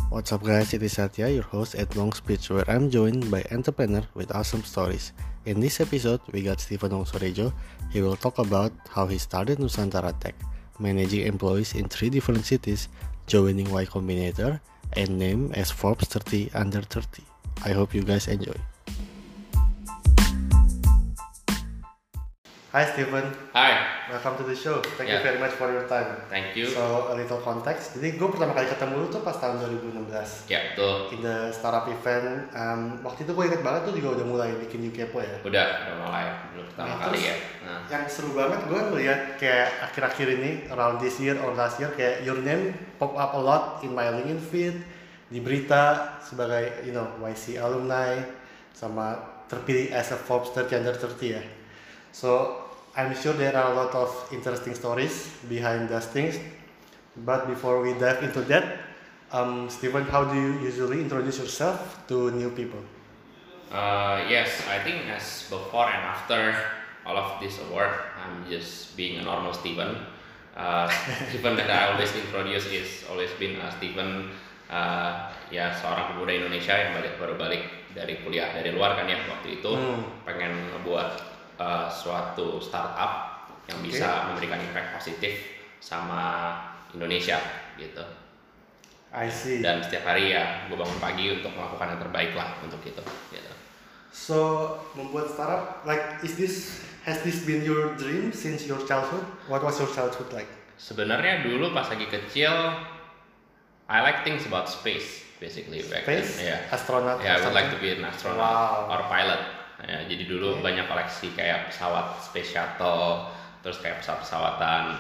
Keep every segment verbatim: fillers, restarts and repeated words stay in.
What's up guys, it is Satya, your host at Long Speech, where I'm joined by entrepreneur with awesome stories. In this episode, we got Stephen Wongsorejo. He will talk about how he started Nusantara Tech, managing employees in three different cities, joining Y Combinator, and named as Forbes thirty under thirty. I hope you guys enjoy. Hi Stephen. Hi. Welcome to the show. Thank Yeah. you very much for your time. Thank you. So a little context. Jadi gue pertama kali ketemu lu tuh pas tahun dua ribu enam belas. Ya betul. In the startup event. Um, waktu itu gue inget banget tuh juga udah mulai bikin Yukepo ya. Udah, udah mulai dulu pertama Nah, kali terus ya. Nah. Yang seru banget gue ngeliat kayak akhir-akhir ini around this year or last year kayak your name pop up a lot in my LinkedIn feed, di berita sebagai you know Y C alumni sama terpilih as a Forbes thirty under thirty ya. So I'm sure there are a lot of interesting stories behind those things. But before we dive into that, um, Stephen, how do you usually introduce yourself to new people? Uh, yes, I think as before and after all of this award, I'm just being a normal Steven. Uh, Steven that I always introduce is always been uh, Steven. Uh, ya seorang pemuda Indonesia yang balik baru balik dari kuliah dari luar kan ya waktu itu hmm. pengen ngebuat uh, suatu startup yang bisa okay. memberikan impact positif sama Indonesia gitu. I see. Dan setiap hari ya gue bangun pagi untuk melakukan yang terbaik lah untuk itu gitu. So membuat startup, like is this has this been your dream since your childhood? What was your childhood like? Sebenarnya dulu pas lagi kecil I like things about space basically back space? then. Yeah. Astronaut? Yeah, I would like to be an astronaut wow. or pilot. Ya, jadi dulu okay. banyak koleksi kayak pesawat space shuttle, terus kayak pesawat-pesawatan.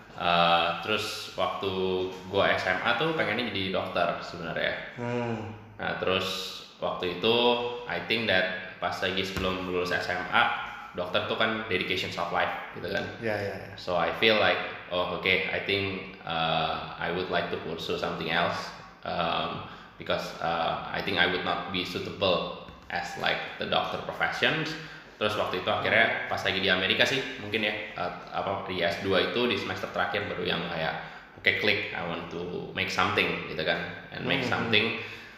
Uh, terus waktu gua S M A tuh pengennya jadi dokter sebenarnya. Hmm. Nah terus waktu itu I think that pas lagi sebelum lulus S M A, dokter tuh kan dedication of life gitu kan. Yeah, yeah, yeah. So I feel like oh okay, I think uh, I would like to pursue something else um, because uh, I think I would not be suitable as like the doctor professions. Terus waktu itu akhirnya pas lagi di Amerika sih mungkin ya uh, apa di S dua itu di semester terakhir baru yang kayak oke okay, klik I want to make something gitu kan and make mm-hmm. something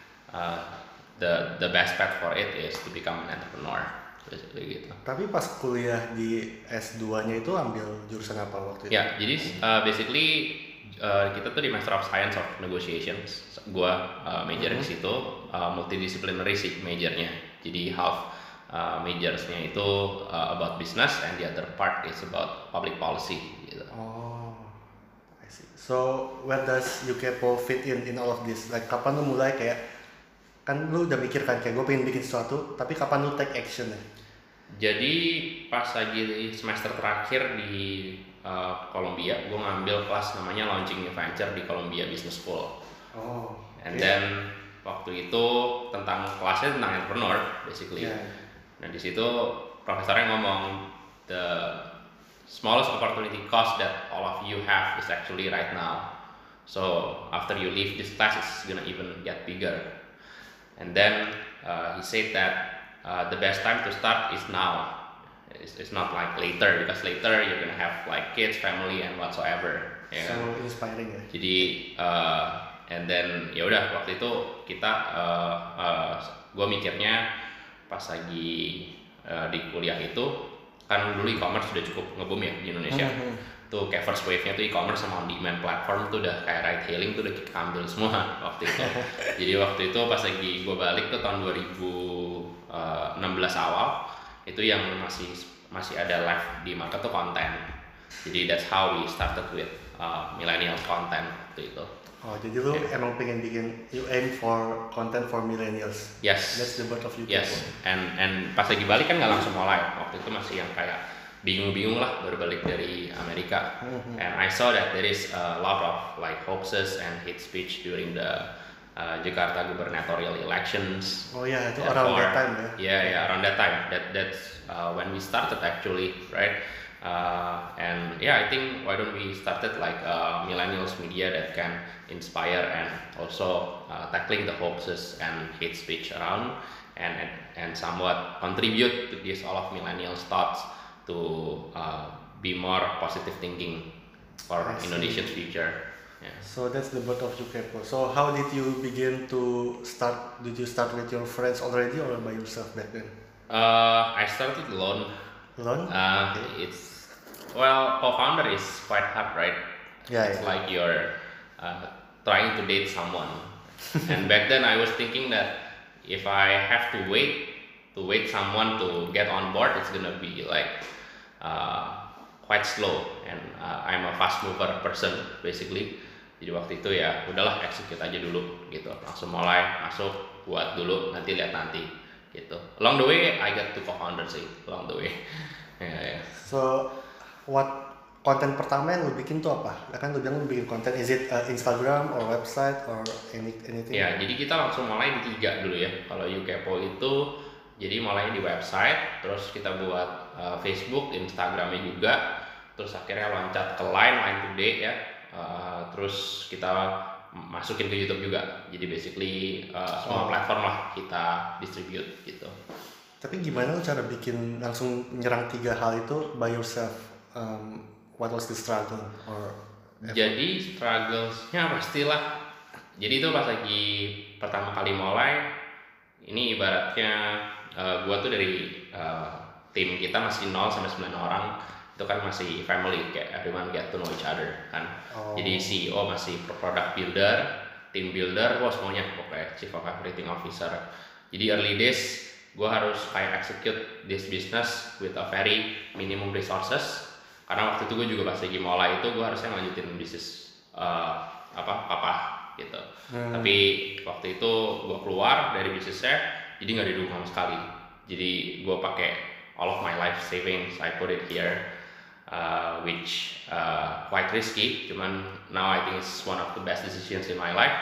uh, the the best path for it is to become an entrepreneur. Gitu. Tapi pas kuliah di S dua-nya itu ambil jurusan apa waktu itu? Ya, jadi uh, basically uh, kita tuh di Master of Science of Negotiations. Gua uh, major mm-hmm. di situ, uh, multidisciplinary sih majornya. Jadi half uh, majorsnya itu uh, about business and the other part is about public policy. Gitu. Oh, I see. So where does Yukepo fit in in all of this? Like kapan lu mulai kayak kan lu udah mikir kan kayak gue pengen bikin sesuatu, tapi kapan lu take action ya? Jadi pas lagi di semester terakhir di uh, Columbia, gue ngambil kelas namanya Launching New Venture di Columbia Business School. Oh. Okay. And then waktu itu tentang kelasnya tentang entrepreneur, basically. Yeah. Nah di situ profesornya ngomong the smallest opportunity cost that all of you have is actually right now. So after you leave this class, it's gonna even get bigger. And then uh, he said that uh, the best time to start is now. It's, it's not like later because later you're gonna have like kids, family, and whatsoever. Yeah. So inspiring ya. Jadi uh, and then ya udah waktu itu kita, uh, uh, gue mikirnya pas lagi uh, di kuliah itu kan dulu e-commerce sudah cukup nge-boom ya di Indonesia. Mm-hmm. Tuh kayak first wave-nya tuh e-commerce sama on-demand platform tuh udah kayak ride hailing tuh udah kita ambil semua waktu itu. Jadi waktu itu pas lagi gue balik tuh tahun dua ribu enam belas awal itu yang masih masih ada live di market tuh konten. Jadi that's how we started with uh, millennial content waktu itu. Oh jadi lu yeah. emang pengen bikin you aim for content for millennials. Yes. That's the birth of you. Yes. And and pas lagi balik kan nggak langsung mulai. Waktu itu masih yang kayak bingung-bingung lah baru balik dari Amerika. Mm-hmm. And I saw that there is a lot of like hoaxes and hate speech during the uh, Jakarta gubernatorial elections. Oh yeah, itu around that time ya. Yeah, yeah, around that time. That that's uh, when we started actually, right? Uh, and yeah, I think why don't we started like uh, millennials media that can inspire and also uh, tackling the hoaxes and hate speech around and and, and somewhat contribute to this all of millennials thoughts to uh, be more positive thinking for Indonesia's future. Yeah. So that's the birth of Yukepo. So how did you begin to start? Did you start with your friends already or by yourself back then? Uh, I started alone. Alone? Uh, Okay. It's well, co-founder is quite hard, right? Yeah, It's yeah. like you're uh, trying to date someone, and back then I was thinking that if I have to wait to wait someone to get on board, it's gonna be like uh, quite slow, and uh, I'm a fast mover person basically. Jadi waktu itu ya udahlah execute aja dulu gitu, langsung mulai masuk buat dulu, nanti lihat nanti gitu. Along the way I got to co-founder sih, along the way. Ya, ya. So what konten pertama yang lu bikin tuh apa? Ya kan lu bilang lu bikin konten, is it uh, Instagram or website or any, anything? Ya, jadi kita langsung mulai di tiga dulu ya. Kalau Yukepo itu jadi mulai di website, terus kita buat uh, Facebook, Instagramnya juga, terus akhirnya loncat ke Line, Line Today ya. Uh, terus kita masukin ke YouTube juga. Jadi basically uh, semua Oh. platform lah kita distribute gitu. Tapi gimana lu cara bikin langsung nyerang tiga hal itu by yourself? Um, what was the struggle or Jadi strugglesnya pastilah. Jadi itu pas lagi pertama kali mulai, ini ibaratnya uh, gua tuh dari uh, tim kita masih nol sampai sembilan orang, itu kan masih family, kayak everyone get to know each other kan. Oh. Jadi C E O masih product builder, team builder, wah semuanya pokoknya chief of everything officer. Jadi early days gua harus kayak execute this business with a very minimum resources. Karena waktu itu gue juga pas lagi mulai itu gue harusnya lanjutin bisnis uh, apa apa gitu. Hmm. Tapi waktu itu gue keluar dari bisnisnya, jadi nggak didukung sama sekali. Jadi gue pakai all of my life savings, I put it here, uh, which uh, quite risky. Cuman now I think it's one of the best decisions in my life.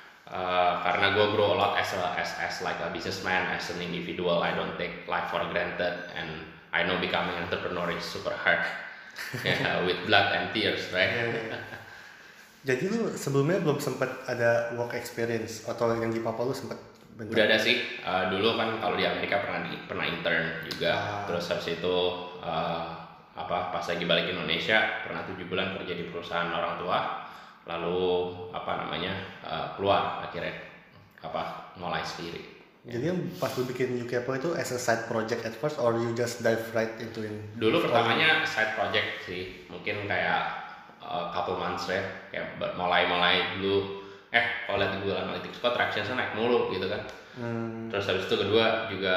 Uh, karena gue grow a lot as a as as like a businessman, as an individual. I don't take life for granted, and I know becoming an entrepreneur is super hard. Yeah, with blood and tears, right? Yeah, yeah. Jadi lu sebelumnya belum sempat ada work experience atau yang di Papua lu sempat bentar? Udah ada sih. Uh, dulu kan kalau di Amerika pernah di, pernah intern juga. Ah. Terus habis itu uh, apa pas lagi balik Indonesia pernah tujuh bulan kerja di perusahaan orang tua. Lalu apa namanya uh, keluar akhirnya apa mulai sendiri. Jadi yang pas lu bikin Yukepo itu as a side project at first or you just dive right into it? Dulu pertamanya side project sih, mungkin kayak uh, couple months ya, kayak mulai-mulai dulu. Eh, kalau lihat di Google Analytics kok tractionsnya naik mulu gitu kan. Hmm. Terus habis itu kedua juga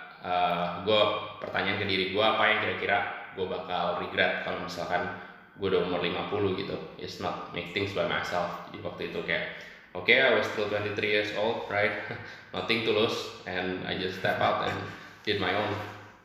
uh, gue pertanyaan ke diri gue apa yang kira-kira gue bakal regret kalau misalkan gue udah umur lima puluh gitu. It's not make things by myself. Jadi waktu itu kayak oke, okay, I was still twenty-three years old, right? Nothing to lose, and I just step out and did my own.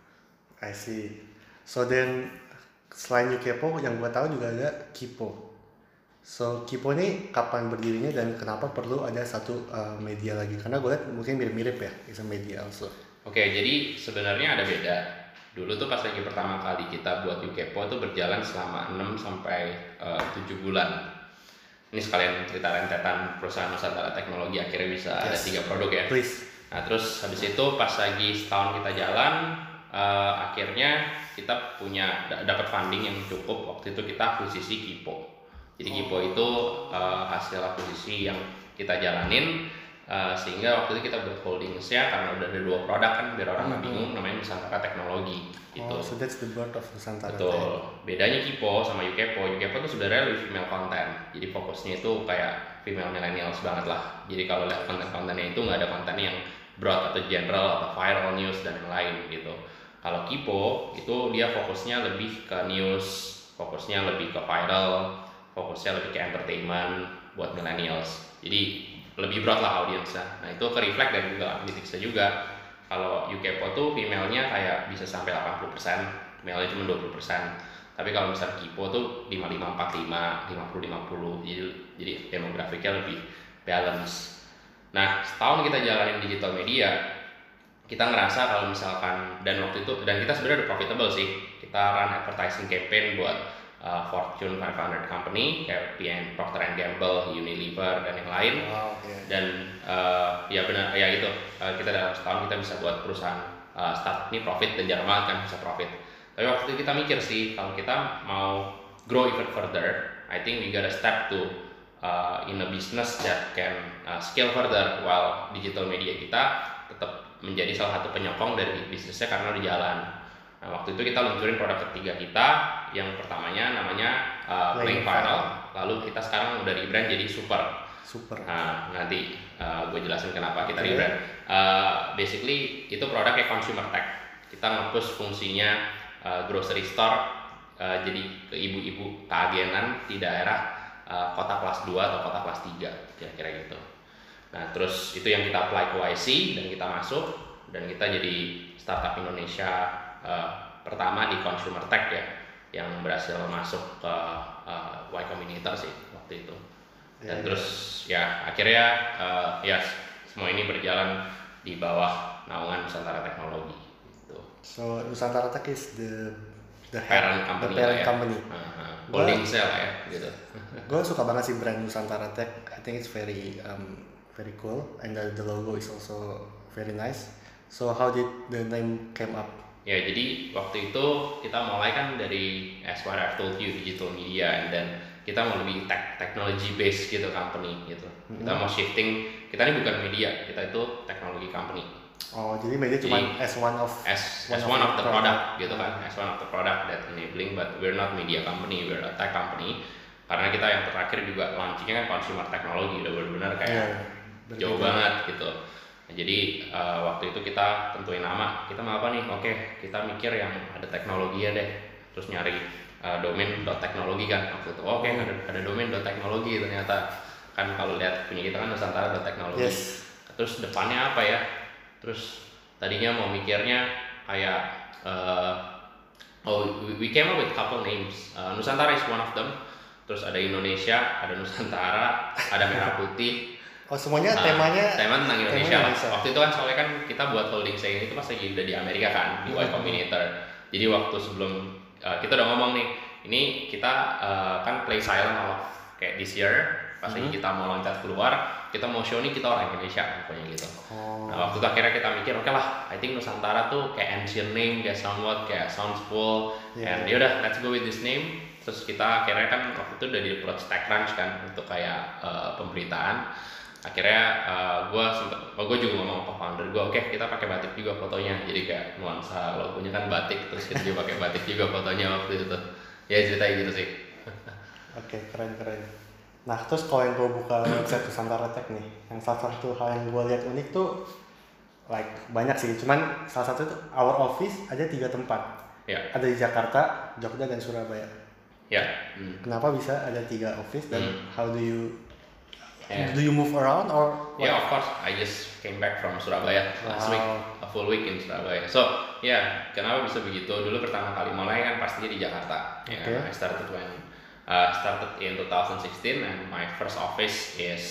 I see. So then selain Yukepo yang gua tahu juga ada Kipo. So Kipo ini kapan berdirinya dan kenapa perlu ada satu uh, media lagi? Karena gue lihat mungkin mirip-mirip ya, it's a media also. Oke, okay, jadi sebenarnya ada beda. Dulu tuh pas lagi pertama kali kita buat Yukepo tuh berjalan selama enam sampai tujuh bulan. Ini sekalian cerita rentetan perusahaan Nusantara Teknologi akhirnya bisa yes. ada tiga produk ya. Please. Nah terus habis itu pas lagi setahun kita jalan, uh, akhirnya kita punya dapat funding yang cukup. Waktu itu kita akuisisi Kipo. Jadi oh. Kipo itu uh, hasil akuisisi yang kita jalanin, uh, sehingga waktu itu kita buat holdingsnya karena udah ada dua produk kan biar orang nggak mm-hmm. bingung, namanya Nusantara Teknologi. Gitu. Oh, so that's the birth of Nusantara. Betul. Bedanya Kipo sama Yukepo, Yukepo itu sebenarnya lebih female content. Jadi fokusnya itu kayak female millennials banget lah. Jadi kalau lihat konten-kontennya itu nggak ada konten yang broad atau general atau viral news dan yang lain gitu. Kalau Kipo itu dia fokusnya lebih ke news, fokusnya lebih ke viral, fokusnya lebih ke entertainment buat millennials. Jadi lebih broad lah audiensnya. Nah itu ke-reflect dari Google Analytics juga. Kalau Yukepo tuh female-nya kayak bisa sampai delapan puluh persen, male-nya cuma dua puluh persen. Tapi kalau misalnya Kipo tuh lima puluh lima empat puluh lima, lima puluh lima puluh. Jadi jadi demografiknya lebih balance. Nah, setahun kita jalanin digital media, kita ngerasa kalau misalkan dan waktu itu dan kita sebenarnya udah profitable sih. Kita run advertising campaign buat uh, Fortune lima ratus company kayak P and Procter and Gamble, Unilever dan yang lain. Wow, yeah. Dan uh, ya benar ya gitu. Uh, kita dalam setahun kita bisa buat perusahaan uh, startup ini profit dan jarang banget kan bisa profit. Tapi waktu itu kita mikir sih kalau kita mau grow even further, I think we gotta step to uh, in a business that can uh, scale further while digital media kita tetap menjadi salah satu penyokong dari bisnisnya karena udah jalan. Nah, waktu itu kita luncurin produk ketiga kita, yang pertamanya namanya uh, Playing Final, lalu kita sekarang udah rebrand jadi Super. Super. Nah, nanti uh, gue jelasin kenapa kita okay. rebrand. Uh, basically itu produknya consumer tech. Kita nge-push fungsinya uh, grocery store uh, jadi ke ibu-ibu keagenan di daerah uh, kota kelas dua atau kota kelas tiga, kira-kira gitu. Nah, terus itu yang kita apply ke Y C dan kita masuk, dan kita jadi startup Indonesia uh, pertama di consumer tech ya, yang berhasil masuk ke uh, Y Combinator sih waktu itu. Dan yeah, terus yeah. ya akhirnya uh, ya semua ini berjalan di bawah naungan Nusantara Teknologi gitu. So Nusantara Tech is the the parent company, the parent ya. company. Uh, holding cell ya gitu. Gue suka banget sih brand Nusantara Tech. I think it's very um, very cool, and the, the logo is also very nice. So how did the name came up? Ya, jadi waktu itu kita mulai kan dari as what I've told you, digital media, and then kita mau lebih tech, technology based gitu company gitu. Mm-hmm. Kita mau shifting, kita ini bukan media, kita itu technology company. Oh, jadi media cuma as one of as one as one of, of the product, product gitu kan, as one of the product that enabling, but we're not media company, we're a tech company. Karena kita yang terakhir juga launchingnya kan consumer technology, udah benar-benar kayak yeah, jauh banget gitu. Nah, jadi uh, waktu itu kita tentuin nama, kita mau apa nih? Oke, kita mikir yang ada teknologinya deh, terus nyari uh, domain dot teknologi kan waktu itu. Oke, ada ada domain dot teknologi ternyata kan, kalau lihat punya kita kan Nusantara dot teknologi. Yes. Terus depannya apa ya? Terus tadinya mau mikirnya kayak uh, oh we came up with couple names. Uh, Nusantara is one of them. Terus ada Indonesia, ada Nusantara, ada Merah Putih. Oh, semuanya uh, temanya tema tentang Indonesia. Tema Indonesia. Waktu itu kan soalnya kan kita buat holding saya itu pas lagi udah di Amerika kan, di Y Combinator. Jadi waktu sebelum uh, kita udah ngomong nih, ini kita uh, kan play silent off kayak this year. Pas lagi mm-hmm. kita mau loncat keluar, kita mau show nih kita orang Indonesia pokoknya gitu. Oh. Nah, waktu itu akhirnya kita mikir oke okay lah, I think Nusantara tuh kayak ancient name, kayak somewhat kayak sounds cool, yeah. And yaudah let's go with this name. Terus kita akhirnya kan waktu itu udah di approach TechCrunch kan untuk kayak uh, pemberitaan. Akhirnya uh, gue sempet, oh gue juga ngomong ke founder gue, oke okay, kita pakai batik juga fotonya, jadi kayak nuansa logonya kan batik, terus kita juga pakai batik juga fotonya waktu itu. Ya ceritanya gitu sih. Oke, okay, keren keren. Nah, terus kalau yang gue buka website Nusantara Tech nih, yang salah satu hal yang gue lihat unik tuh, like banyak sih, cuman salah satu itu our office ada tiga tempat, ya. Ada di Jakarta, Jogja, dan Surabaya. Ya. Hmm. Kenapa bisa ada tiga office dan hmm. how do you yeah. do you move around or? What? Yeah, of course. I just came back from Surabaya last wow. week, a full week in Surabaya. So, ya, yeah, kenapa bisa begitu? Dulu pertama kali mulai kan pastinya di Jakarta. Okay. Yeah, I started when Uh, started in twenty sixteen, and my first office is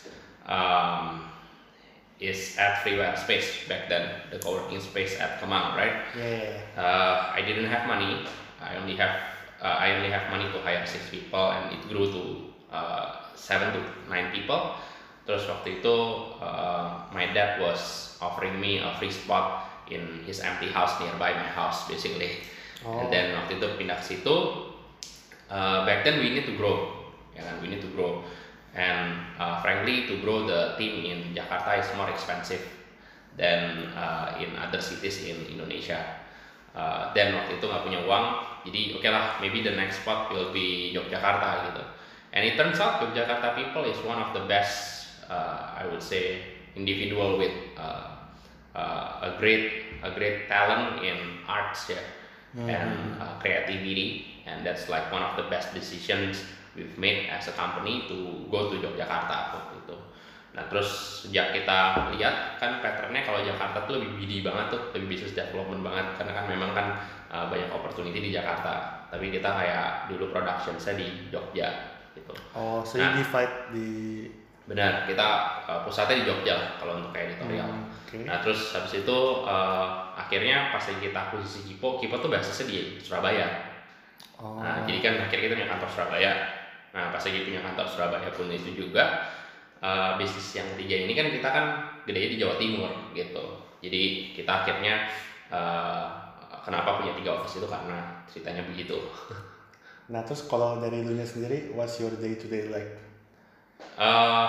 um, is at Freeware Space back then, the co-working space at Kemang, right? Yeah. Uh, I didn't have money. I only have uh, I only have money to hire six people, and it grew to uh, seven to nine people. Terus waktu itu uh, my dad was offering me a free spot in his empty house nearby my house, basically. Oh. And then waktu itu pindah ke situ. Uh, back then we need to grow, ya kan? We need to grow, and uh, frankly to grow the team in Jakarta is more expensive than uh, in other cities in Indonesia. Uh, dan waktu itu nggak punya uang, jadi oke okay lah, maybe the next spot will be Yogyakarta gitu. And it turns out Yogyakarta people is one of the best, uh, I would say, individual with uh, uh, a great a great talent in arts ya, mm-hmm. and uh, creativity. And that's like one of the best decisions we've made as a company to go to Yogyakarta waktu itu. Nah, terus sejak kita lihat kan patternnya kalau Jakarta tuh lebih B D banget tuh, lebih business development banget, karena kan memang kan uh, banyak opportunity di Jakarta. Tapi kita kayak dulu production-nya di Jogja gitu. Oh, so nah, you divide di benar, kita uh, pusatnya di Jogja lah kalau untuk kayak editorial. Hmm, okay. Nah, terus habis itu uh, akhirnya pas kita akuisisi Kipo, Kipo tuh basisnya di Surabaya. Oh. Nah, jadi kan akhirnya kita punya kantor Surabaya. Nah, pas lagi punya kantor Surabaya pun itu juga uh, bisnis yang ketiga ini kan kita kan gede di Jawa Timur gitu. Jadi kita akhirnya uh, kenapa punya tiga office itu karena ceritanya begitu. Nah, terus kalau dari lu nya sendiri, what's your day to day like? Uh,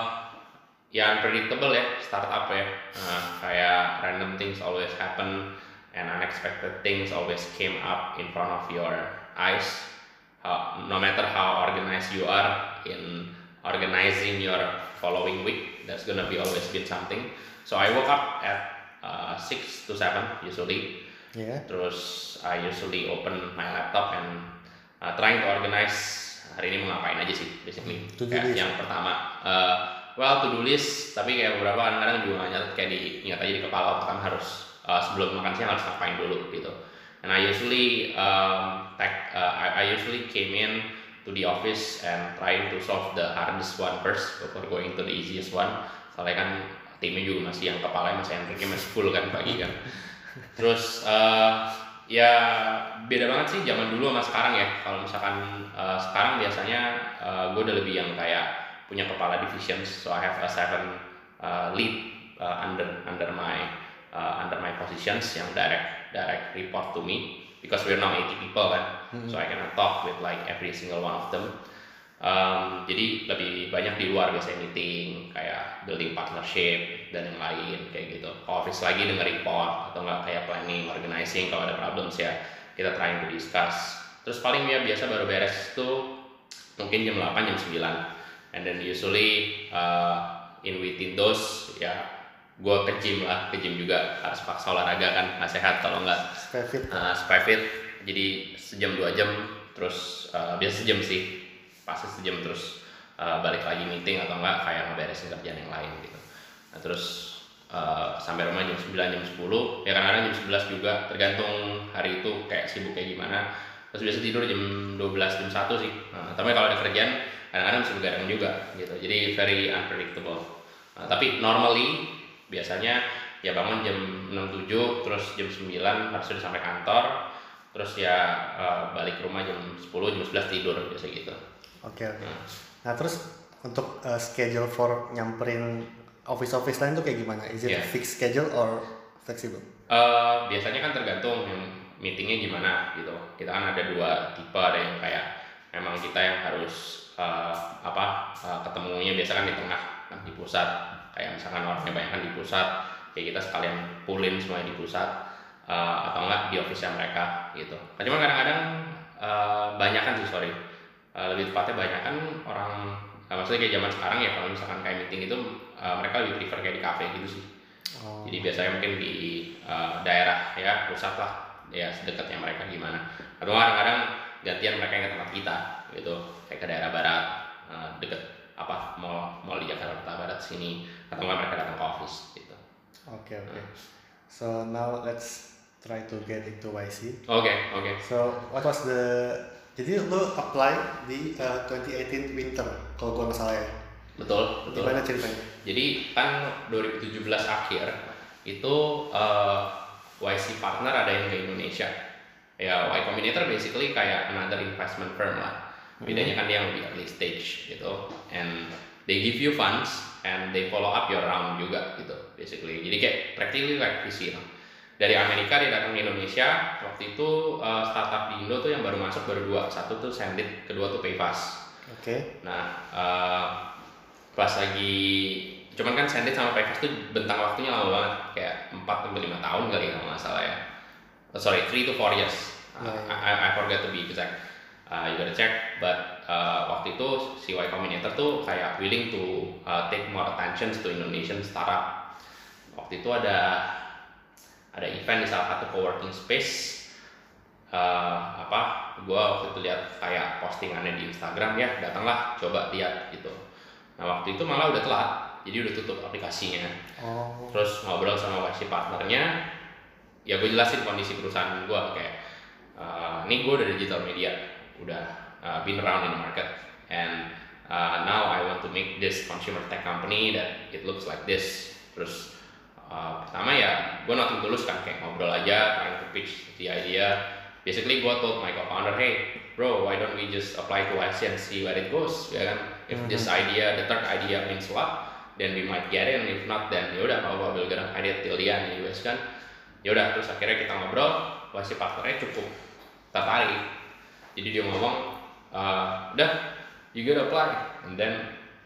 ya unpredictable ya startup ya. Uh, kayak random things always happen and unexpected things always came up in front of your eyes. Uh, no matter how organized you are in organizing your following week, there's gonna be always been something. So I woke up at uh, six to seven usually. Yeah. Terus I usually open my laptop and uh, trying to organize hari ini mau ngapain aja sih basically. Kayak yang pertama, uh, well to do list, tapi kayak beberapa kadang-kadang juga nggak nyatet, kayak diingat aja di kepala kan harus uh, sebelum makan siang harus ngapain dulu gitu. And I usually um, tag, uh, I, I usually came in to the office and trying to solve the hardest one first before going to the easiest one. Soalnya kan timnya juga masih yang kepalanya masih yang masih full kan pagi kan. Terus uh, ya beda banget sih zaman dulu sama sekarang ya. Kalau misalkan uh, sekarang biasanya uh, gue udah lebih yang kayak punya kepala divisions, so I have a seven uh, lead uh, under under my uh, under my positions yang direct direct report to me because we're now eighty people kan, mm-hmm. so I can talk with like every single one of them. Um, jadi lebih banyak di luar biasanya meeting kayak building partnership dan yang lain kayak gitu. Office lagi denger report atau nggak kayak planning, organizing kalau ada problems ya kita trying to discuss. Terus paling ya biasa baru beres tuh mungkin jam delapan jam sembilan, and then usually uh, in within those ya gue ke gym lah, ke gym juga harus paksa olahraga kan, nggak sehat kalau nggak supaya fit. Uh, supaya fit. Jadi sejam dua jam terus uh, biasa sejam sih. Pasti sejam terus uh, balik lagi meeting atau enggak kayak ngeberesin kerjaan yang lain gitu. Nah, terus uh, sampai rumah jam sembilan jam sepuluh ya kadang-kadang jam sebelas juga tergantung hari itu kayak sibuk kayak gimana. Terus biasa tidur jam dua belas jam satu sih. Nah, tapi kalau ada kerjaan kadang-kadang bisa begadang juga gitu. Jadi very unpredictable. Nah, tapi normally biasanya ya bangun jam enam tujuh terus jam sembilan harus sudah sampai kantor. Terus ya uh, balik rumah jam sepuluh jam sebelas tidur biasa gitu. Oke okay, oke. Okay. Nah terus untuk uh, schedule for nyamperin office-office lain tuh kayak gimana? Is it yeah. fixed schedule or flexible? Uh, biasanya kan tergantung yang meetingnya gimana gitu. Kita kan ada dua tipe, ada yang kayak memang kita yang harus uh, apa uh, ketemunya biasa kan di tengah, kan di pusat. Kayak misalkan orangnya banyak kan di pusat, kayak kita sekalian pullin semuanya di pusat uh, atau enggak di office-nya mereka gitu. Cuma kadang-kadang uh, banyak kan sih sorry. Uh, lebih tepatnya banyak kan orang uh, maksudnya kayak zaman sekarang ya kalau misalkan kayak meeting itu uh, mereka lebih prefer kayak di cafe gitu sih. Oh. Jadi biasanya mungkin di uh, daerah ya pusat lah ya sedekatnya mereka gimana. Atau kadang-kadang gantian mereka yang ke tempat kita gitu kayak ke daerah barat uh, deket apa mall mall di Jakarta Barat sini atau nggak mereka datang ke office gitu. Oke okay, oke. Okay. Uh. So now let's try to get into Y C. Oke okay, oke. Okay. So what was the Jadi lo apply di uh, twenty eighteen winter kalau gua nggak salah ya. Betul, betul. Gimana ceritanya? Jadi kan dua ribu tujuh belas akhir itu uh, Y C partner ada yang ke Indonesia. Ya Y Combinator basically kayak another investment firm lah. Bedanya kan dia yang lebih early stage gitu. And they give you funds and they follow up your round juga gitu basically. Jadi kayak practically like V C lah. Dari Amerika dia datang ke Indonesia. Waktu itu uh, startup di Indo tuh yang baru masuk baru dua, satu tuh Sendit, kedua tuh Payfast. Oke. Okay. Nah uh, pas lagi, cuman kan Sendit sama Payfast tuh bentang waktunya lama banget, kayak empat sampai lima tahun kali kalau nggak salah ya. Oh, sorry, three to four years. Uh, yeah, yeah. I, I forget to be exact. Uh, you gotta check. But uh, waktu itu si Y Combinator tuh kayak willing to uh, take more attention to Indonesian startup. Waktu itu ada ada event di salah satu coworking space. Uh, apa? Gua waktu itu lihat kayak postingannya di Instagram ya, datanglah coba lihat gitu. Nah waktu itu malah udah telat, jadi udah tutup aplikasinya. Oh. Terus ngobrol sama Y C partnernya, ya gue jelasin kondisi perusahaan gue kayak, uh, ini gue udah digital media, udah uh, been around in the market, and uh, now I want to make this consumer tech company that it looks like this. Terus uh, pertama ya gue nothing tulus kan, kayak ngobrol aja, trying to pitch the idea. Basically gue told my co-founder, hey bro, why don't we just apply to Y C and see where it goes, ya kan? If mm-hmm. this idea, the third idea means what, then we might get in. If not, then yaudah nggak apa-apa, we'll get idea till the end, U S kan? Yaudah, terus akhirnya kita ngobrol, Y C partnernya cukup tertarik. Jadi dia ngomong, uh, udah, you gotta apply. And then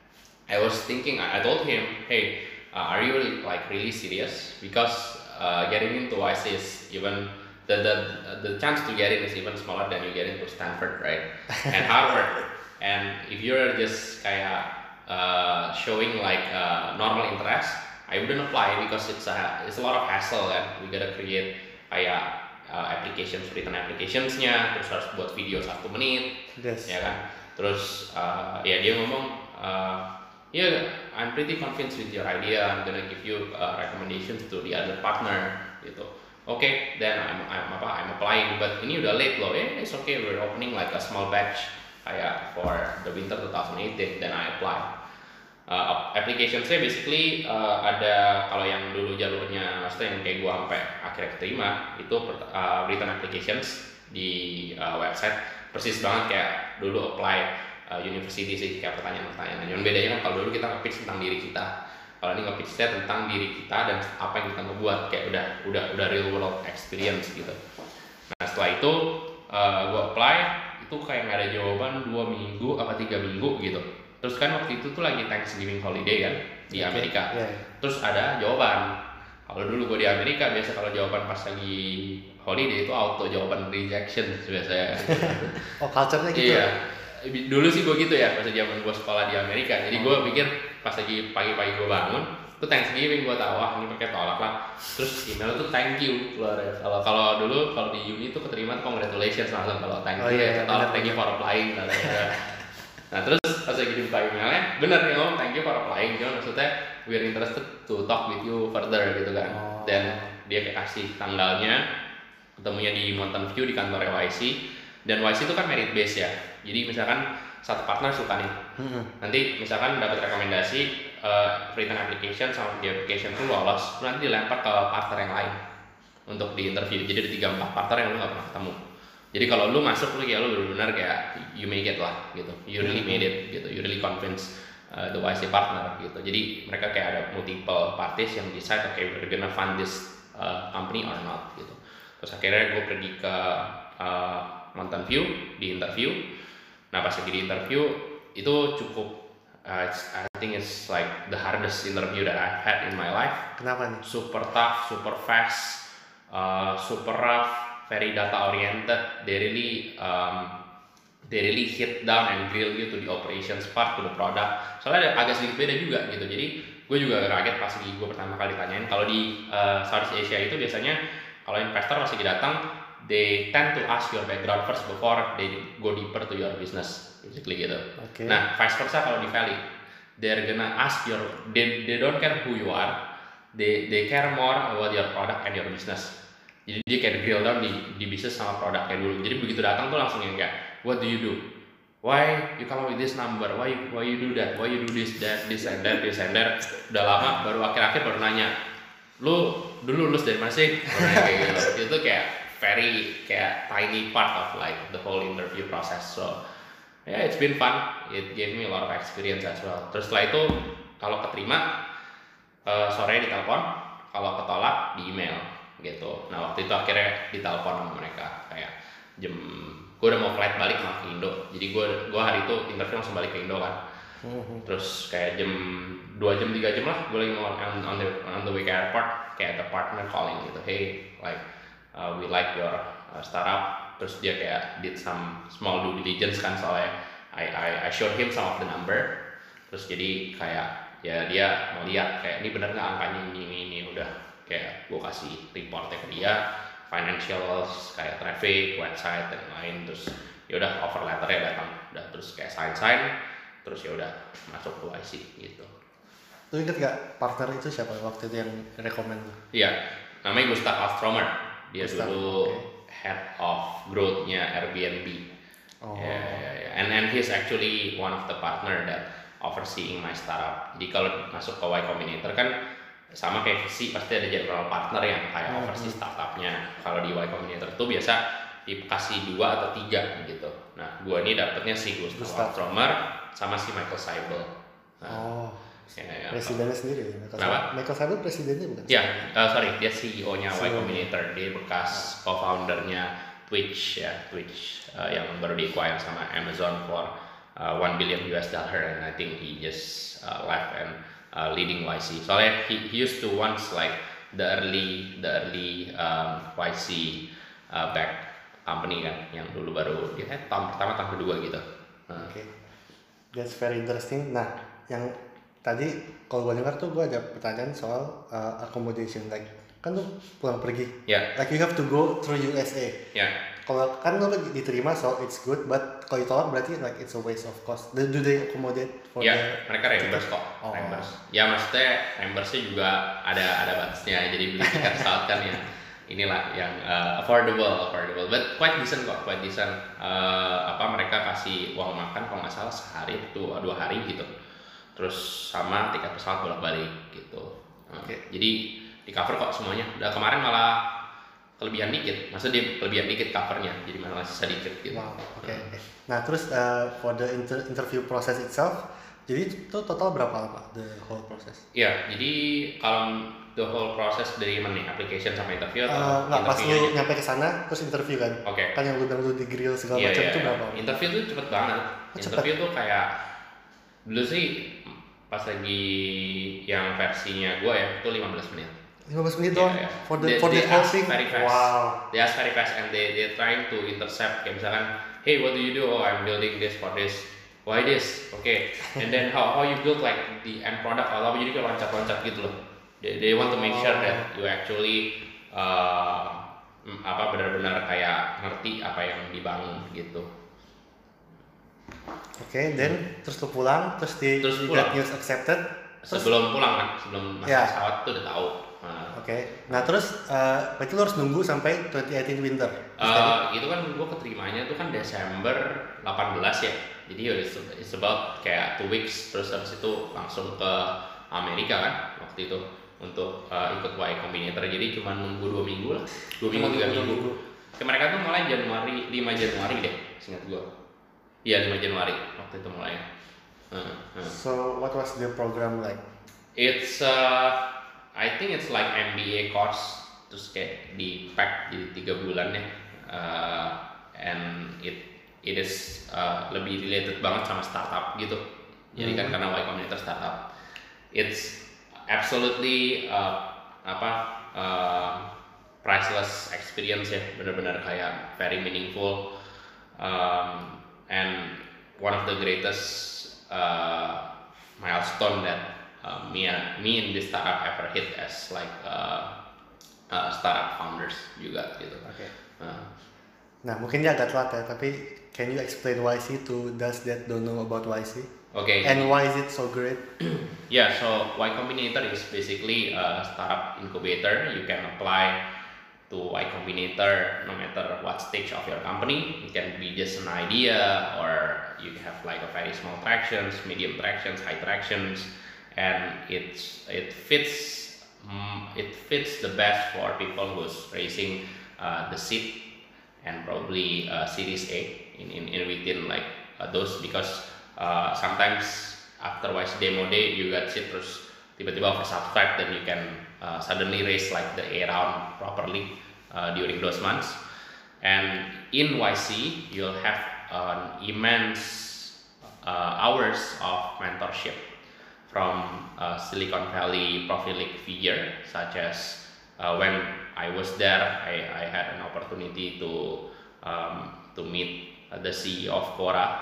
I was thinking, I I told him, hey, uh, are you really, like really serious? Because uh, getting into Y C is even the, the the chance to get in is even smaller than you get into Stanford, right? And Harvard. And if you're just kayak uh, showing like uh, normal interest, I wouldn't apply because it's a it's a lot of hassle and we gotta create kayak uh, applications, written applicationsnya, terus harus buat video satu menit, yes. ya kan? Terus uh, ya dia ngomong, uh, yeah, I'm pretty convinced with your idea. I'm gonna give you uh, recommendations to the other partner, gitu. Oke, okay, then I'm, I'm apa? I'm applying, but ini udah late loh. Eh, it's okay. We're opening like a small batch kayak for the winter twenty eighteen. Then I apply. Uh, application saya basically uh, ada kalau yang dulu jalurnya, maksudnya yang kayak gua sampai akhirnya keterima itu uh, written applications di uh, website persis banget kayak dulu apply uh, university sih, kayak pertanyaan-pertanyaan. Yang bedanya kan kalau dulu kita nge-pitch tentang diri kita, kalau ini nge-pitch tentang diri kita dan apa yang kita mau buat, kayak udah udah udah real world experience gitu. Nah setelah itu uh, gua apply, itu kayak nggak ada jawaban dua minggu apa tiga minggu gitu. Terus kan waktu itu tuh lagi Thanksgiving holiday kan di Amerika. Okay. Yeah. Terus ada jawaban. Kalau dulu gue di Amerika biasa kalau jawaban pas lagi holiday itu auto jawaban rejection biasanya. Oh, culture-nya gitu. Iya. Dulu sih gue gitu ya pas zaman gue sekolah di Amerika. Jadi gue pikir pas lagi pagi-pagi gue bangun, itu Thanksgiving gue tahu wah ini pakai tolak lah. Terus email tuh thank you keluar ya. Kalau kalau dulu kalau di uni tuh keterima congratulations langsung, kalau thank you oh, iya, ya tolak thank you for applying. Nah terus pas lagi dibuka emailnya, bener nih ngomong thank you for applying, cuma maksudnya we're interested to talk with you further gitu kan. Oh. Dan dia kayak kasih tanggalnya, ketemunya di Mountain View di kantor Y C. Dan Y C itu kan merit base ya, jadi misalkan satu partner suka nih, hmm. nanti misalkan dapat rekomendasi uh, written application sama di application itu lolos, nanti dilempar ke partner yang lain untuk di interview. Jadi ada tiga empat partner yang lu nggak pernah ketemu. Jadi kalau lu masuk lu kayak lu benar-benar kayak you make it lah gitu, you really made it gitu, you really convince uh, the Y C partner gitu. Jadi mereka kayak ada multiple parties yang decide okay we're gonna fund this uh, company or not gitu. Terus akhirnya gue pergi ke uh, Mountain View di interview. Nah pas lagi di interview itu cukup uh, I think it's like the hardest interview that I've had in my life. Kenapa nih? Super tough, super fast, uh, super rough. Very data oriented. They really um, they really hit down and drill you to the operations part, to the product. Soalnya ada agak sedikit beda juga gitu. Jadi gue juga kaget pas lagi gue pertama kali tanyain. Kalau di uh, Southeast Asia itu biasanya kalau investor pas lagi datang, they tend to ask your background first before they go deeper to your business, basically gitu. Okay. Nah vice versa kalau di Valley, they're gonna ask your they they don't care who you are, they they care more about your product and your business. Jadi dia kayak drill down di, di bisnis sama produknya dulu. Jadi begitu datang tuh langsung yang kayak, what do you do? Why you come up with this number? Why you, why you do that? Why you do this, that, this and that, this and that? Udah lama, baru akhir-akhir baru nanya, lu dulu lulus dari mana sih? Baru nanya kayak gitu. Itu kayak very kayak tiny part of like the whole interview process. So yeah, it's been fun. It gave me a lot of experience as well. Terus setelah itu kalau keterima uh, sore ditelepon, kalau ketolak di email. Gitu. Nah waktu itu akhirnya ditelepon sama mereka kayak jam gue udah mau flight balik sama ke Indo, jadi gue gue hari itu interview langsung balik ke Indo kan. Mm-hmm. Terus kayak jam dua jam tiga jam lah gue lagi mau on, on the on the way ke airport, kayak the partner calling gitu, hey like uh, we like your uh, startup. Terus dia kayak did some small due diligence kan, soalnya I I I showed him some of the number. Terus jadi kayak ya dia mau lihat kayak ini bener nggak angkanya ini ini ini udah. Kayak gue kasih reportnya ke dia, financials, kayak traffic, website dan lain. Terus ya udah offer letternya datang, udah terus kayak sign sign, terus ya udah masuk ke Y C gitu. Lu inget gak partner itu siapa waktu itu yang rekomend lu? Iya, namanya Gustav Alstromer. Dia Gustav, dulu okay. head of growth-nya Airbnb. Oh. Yeah, yeah, yeah. And and he's actually one of the partner that overseeing my startup. Jadi kalau masuk ke Y Combinator kan sama kayak Visi, pasti ada general partner yang kayak hmm. oversee startupnya. Kalau di Y Combinator itu biasa dikasih dua atau tiga gitu. Nah, gua ini dapetnya si Gustav Alstromer sama si Michael Seibel. Nah, oh, ya, ya, presidennya sendiri ya? Michael, Michael Seibel presidennya bukan? Ya, uh, sorry, dia C E O-nya Y Combinator. Dia bekas co-foundernya Twitch ya, Twitch uh, yang baru di-acquire sama Amazon for uh, one billion U S dollar, and I think he just uh, left and uh, leading Y C. Soalnya he, he used to once like the early the early um, Y C uh, back company kan, yang dulu baru dia kan tahun pertama tahun kedua gitu. Oke, okay. That's very interesting. Nah, yang tadi kalau gue dengar tuh gue ada pertanyaan soal uh, accommodation, like kan lu pulang pergi, yeah. like you have to go through U S A. Yeah. Kalau kan lu diterima, so it's good, but kalau ditolak berarti like it's a waste of cost. Do, do they accommodate for ya, the mereka reimburse kok, oh. reimburse. Ya maksudnya reimburse-nya juga ada ada batasnya, jadi beli tiket pesawat kan yang inilah yang uh, affordable, affordable, but quite decent kok, quite decent. Uh, apa mereka kasih uang makan kalau nggak salah sehari itu dua hari gitu, terus sama tiket pesawat bolak-balik gitu. Uh, okay. Jadi di cover kok semuanya. Udah kemarin malah kelebihan dikit, maksudnya dia kelebihan dikit covernya, jadi malah sisa dikit gitu. Wow, oke. Okay, okay. Nah terus uh, for the inter interview process itself, jadi itu total berapa lama the whole process? Iya, jadi kalau the whole process dari mana nih, application sampai interview atau uh, nggak, pas lu aja? nyampe ke sana terus interview kan? Oke. Okay. Kan yang lu bilang lu di grill segala yeah, macam yeah, itu yeah. berapa? Interview tuh cepet banget. Oh, interview cepet. tuh kayak dulu sih pas lagi yang versinya gue ya itu lima belas menit. lima belas menit doang? Yeah, yeah. For the they, for the they whole ask thing? very fast. Wow. They ask very fast and they they trying to intercept kayak misalkan, hey what do you do? Oh I'm building this for this. Why this? Oke. Okay. And then how how you build like the end product atau apa, jadi kayak loncat-loncat gitu loh. They, they want to make sure that you actually uh, apa benar-benar kayak ngerti apa yang dibangun gitu. Oke, okay, then terus lu pulang, terus di terus you pulang. got news accepted. Terus, sebelum pulang kan, sebelum masuk yeah. pesawat tuh udah tahu. Nah. Oke, okay. Nah terus uh, berarti lu harus nunggu sampai dua ribu delapan belas winter. Uh, itu kan gua keterimanya tuh kan Desember delapan belas ya. Jadi it's, it's about kayak two weeks, terus habis itu langsung ke Amerika kan waktu itu untuk uh, ikut Y Combinator. Jadi cuma nunggu dua minggu lah, dua minggu tiga minggu. Ke mereka tuh mulai Januari, lima Januari deh, seingat gua. Iya lima Januari waktu itu mulai. Uh, uh. So what was the program like? It's uh, I think it's like M B A course, terus kayak di pack jadi tiga bulan ya. Uh, and it it is uh, lebih related banget sama startup gitu. Jadi kan karena Y Combinator startup, it's absolutely uh, apa uh, priceless experience ya, benar-benar kayak very meaningful um, and one of the greatest uh, milestone that uh, me and me in this startup ever hit as like uh, uh, startup founders juga gitu. Oke. Okay. Uh. Nah mungkin dia agak telat ya, tapi can you explain Y C to those that don't know about Y C? Okay. And why is it so great? Yeah, so Y Combinator is basically a startup incubator. You can apply to Y Combinator no matter what stage of your company. It can be just an idea, or you have like a very small tractions, medium tractions, high tractions, and it's it fits um, it fits the best for people who's raising uh, the seed and probably uh, Series A in, in, in within like uh, those, because uh, sometimes after Y C demo day you got seed terus tiba-tiba oversubscribed, then you can uh, suddenly raise like the A round properly uh, during those months. And in Y C you'll have an immense uh, hours of mentorship from uh, Silicon Valley prolific figure such as uh, when I was there, I, I had an opportunity to um, to meet uh, the C E O of Quora,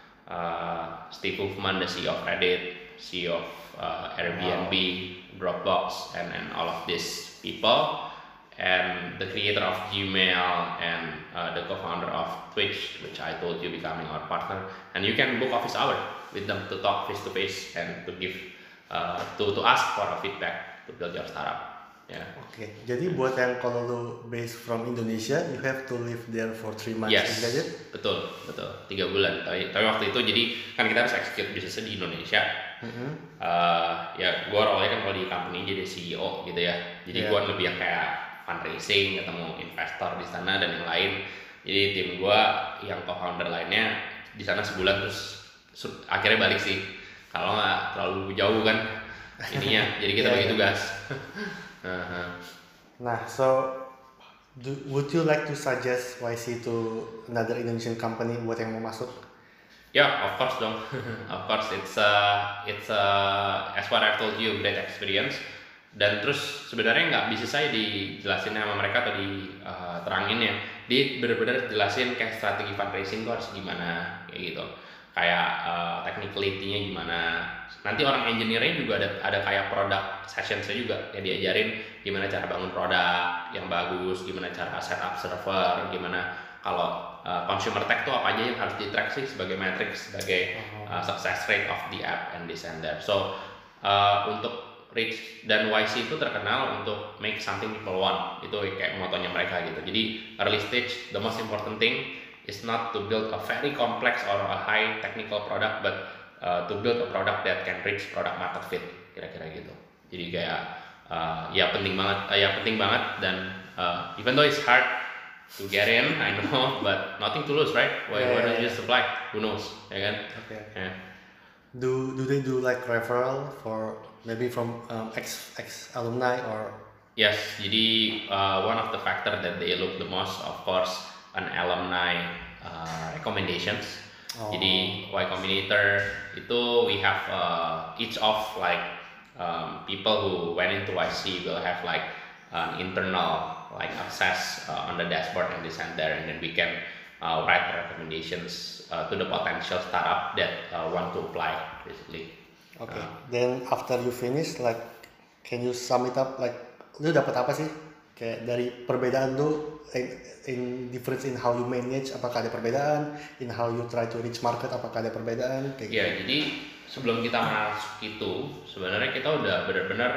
uh, Steve Huffman, the C E O of Reddit, C E O of uh, Airbnb, wow. Dropbox, and, and all of these people, and the creator of Gmail, and uh, the co-founder of Twitch, which I told you becoming our partner. And you can book office hour with them to talk face to face and to give uh, to to ask for a feedback to build your startup. Yeah. Oke, okay. Jadi buat yang kalau lu based from Indonesia, you have to live there for three months. Yes, is that it? betul, betul, tiga bulan. Tapi, tapi waktu itu jadi kan kita harus execute bisnisnya di Indonesia. Mm-hmm. Uh, ya, gue awalnya kan kalau di company jadi C E O gitu ya. Jadi yeah. gue lebih yang kayak fundraising, ketemu investor di sana dan yang lain. Jadi tim gue yang co-founder lainnya di sana sebulan terus akhirnya balik sih. Kalau nggak terlalu jauh kan ininya. Jadi kita yeah, bagi tugas. Uh-huh. Nah, so do, would you like to suggest Y C to another Indonesian company buat yang mau masuk? Yeah, of course dong. Of course, it's a, it's a, as what I've told you, great experience. Dan terus sebenarnya nggak bisa saya dijelasin sama mereka atau diterangin ya. Dia benar-benar jelasin kayak strategi fundraising tuh harus gimana kayak gitu. Kayak uh, technicality-nya gimana. Nanti orang engineer-nya juga ada ada kayak product session-nya juga ya, diajarin gimana cara bangun produk yang bagus, gimana cara setup server, gimana kalau uh, consumer tech tuh apa aja yang harus di-track sih sebagai metrics, sebagai uh, success rate of the app and this and that. So uh, untuk Rich dan Y C itu terkenal untuk make something people want, itu kayak motonya mereka gitu. Jadi early stage, the most important thing is not to build a very complex or a high technical product, but uh, to build a product that can reach product market fit, kira-kira gitu. Jadi kayak uh, ya penting banget, uh, ya penting banget dan uh, even though it's hard to get in, I know, but nothing to lose, right? Why, yeah, why yeah, don't you yeah. just apply? Who knows, ya kan? Okay. Yeah. Do do they do like referral for maybe from um, ex ex alumni or? Yes, jadi uh, one of the factor that they look the most, of course, an alumni uh, recommendations. Oh. Jadi Y Combinator itu we have uh, each of like um, people who went into Y C will have like an internal like access uh, on the dashboard and this and there, and then we can uh, write recommendations uh, to the potential startup that uh, want to apply basically. Okay. Uh, Then after you finish, like, can you sum it up? Like, lu dapat apa sih? Kayak dari perbedaan lu, in, in difference in how you manage, apakah ada perbedaan? In how you try to reach market, apakah ada perbedaan? Kayak ya, gitu. Jadi sebelum kita masuk itu, sebenarnya kita udah benar-benar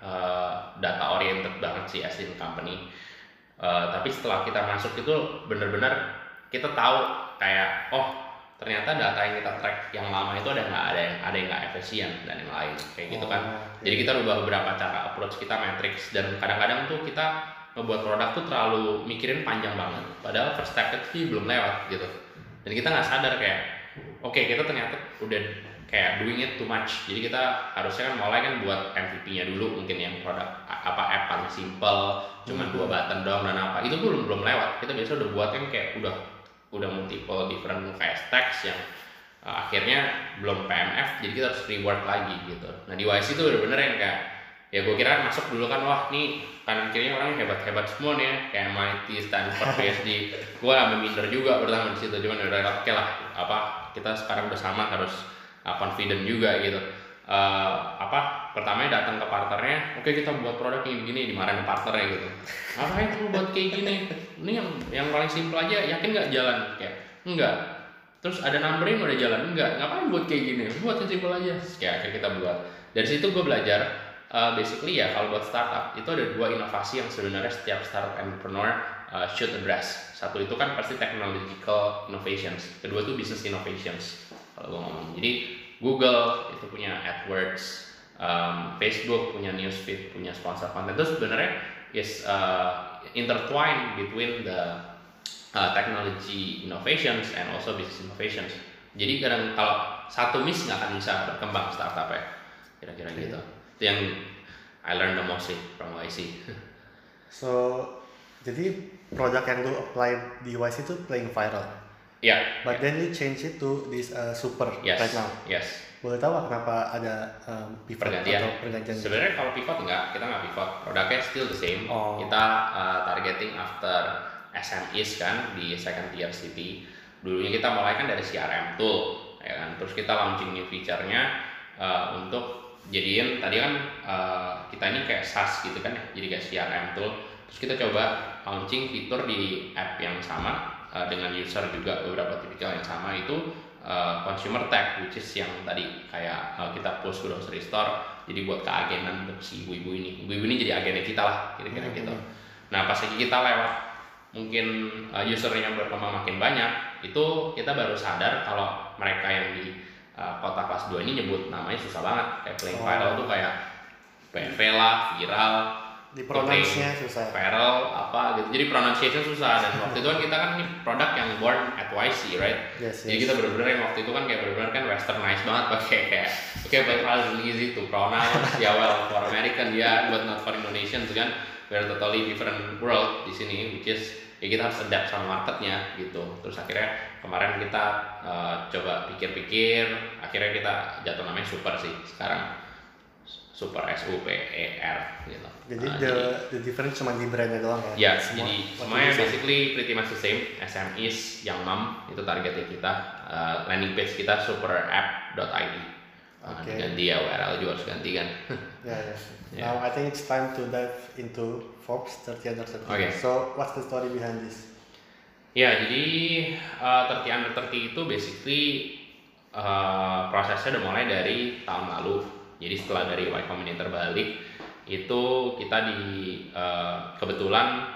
uh, data oriented banget sih as in company. Uh, tapi setelah kita masuk itu benar-benar kita tahu kayak oh ternyata data yang kita track yang lama itu ada nggak ada yang ada yang nggak efisien dan yang lain kayak gitu kan. Oh, okay. Jadi kita ubah beberapa cara approach kita matrix, dan kadang-kadang tuh kita membuat produk tuh terlalu mikirin panjang banget, padahal first step itu belum lewat gitu. Dan kita nggak sadar kayak oke okay, kita ternyata udah kayak doing it too much. Jadi kita harusnya kan mulai kan buat M V P-nya dulu, mungkin yang produk apa app paling simple, cuman dua button doang dan apa itu belum belum lewat. Kita biasa udah buat kan kayak udah udah multiple different kayak stacks yang uh, akhirnya belum P M F, jadi kita harus reward lagi gitu. Nah di Y C itu bener-bener yang kayak ya gue kira masuk dulu kan wah nih kanan kirinya orang hebat-hebat semua nih ya, kayak M I T, Stanford, P H D. Gue ambil minder juga pertama di situ, cuman udah oke lah apa kita sekarang udah sama harus uh, confident juga gitu. Uh, apa pertamanya datang ke partnernya, oke okay, kita buat produk kayak begini, dimarahin partnernya gitu. Ngapain kamu buat kayak gini? Ini yang yang paling simple aja, yakin nggak jalan? Kayak enggak. Terus ada numbering udah jalan, enggak. Ngapain buat kayak gini? Buat yang simple aja. Kayak akhirnya kita buat. Dari situ gue belajar uh, basically ya kalau buat startup itu ada dua inovasi yang sebenarnya setiap startup entrepreneur uh, should address. Satu itu kan pasti technological innovations. Kedua itu business innovations kalau gue ngomong. Jadi Google itu punya AdWords, um, Facebook punya newsfeed, punya sponsor content. Itu sebenarnya is uh, intertwined between the uh, technology innovations and also business innovations. Jadi kadang kalau satu miss nggak akan bisa berkembang startup ya, kira-kira okay. Gitu. Itu yang I learned the most sih from Y C. So jadi produk yang lu apply di Y C itu playing viral. Yeah. But yeah. then you change it to this uh, super yes, right now. Yes. Boleh tahu kenapa ada um, pivot pergantian? atau pergantian? Sebenarnya kalau pivot enggak, kita nggak pivot. Produknya still the same. Oh. Kita uh, targeting after S M Es kan di second tier city. Dulunya kita mulai kan dari C R M tool, ya kan. Terus kita launching new feature-nya uh, untuk jadiin tadi kan uh, kita ini kayak SaaS gitu kan ya, jadi kayak C R M tool. Terus kita coba launching fitur di app yang sama. Uh, dengan user juga beberapa tipikal yang sama itu uh, consumer tech, which is yang tadi kayak uh, kita post ke grocery store, jadi buat keagenan untuk si ibu-ibu ini, ibu-ibu ini jadi agennya kita lah kira-kira mm-hmm. gitu. Nah pas lagi kita lewat mungkin uh, usernya berkembang makin banyak, itu kita baru sadar kalau mereka yang di uh, kota kelas dua ini nyebut namanya susah banget, kayak playing oh. viral tuh kayak P V lah, viral, di pronounce-nya susah. Viral apa gitu. Jadi pronunciation susah, dan waktu itu kan kita kan nih produk yang born at Y C, right? Yes, Jadi yes. kita benar-benar yang waktu itu kan kayak benar-benar kan westernized banget pakai kayak oke okay, but how easy to pronounce ya well for American ya, yeah, but not for Indonesians kan. we're totally different world di sini, which is ya kita harus adapt sama marketnya gitu. Terus akhirnya kemarin kita uh, coba pikir-pikir, akhirnya kita jatuh namanya Super sih sekarang, Super S U P E R gitu. Jadi uh, the jadi, the difference cuma di brandnya doang ya? Ya, Semua, jadi semuanya basically pretty much the same. S M Es yang mom itu targetnya kita. Uh, landing page kita superapp dot I D. Uh, okay. Ganti ya U R L juga harus ganti kan. Ya, yeah, yeah. Yeah. Now I think it's time to dive into Forbes thirty under thirty. Okay. So what's the story behind this? Ya, jadi uh, thirty under thirty itu basically uh, prosesnya udah mulai dari tahun lalu. Jadi setelah dari Y Combinator balik, itu kita di uh, kebetulan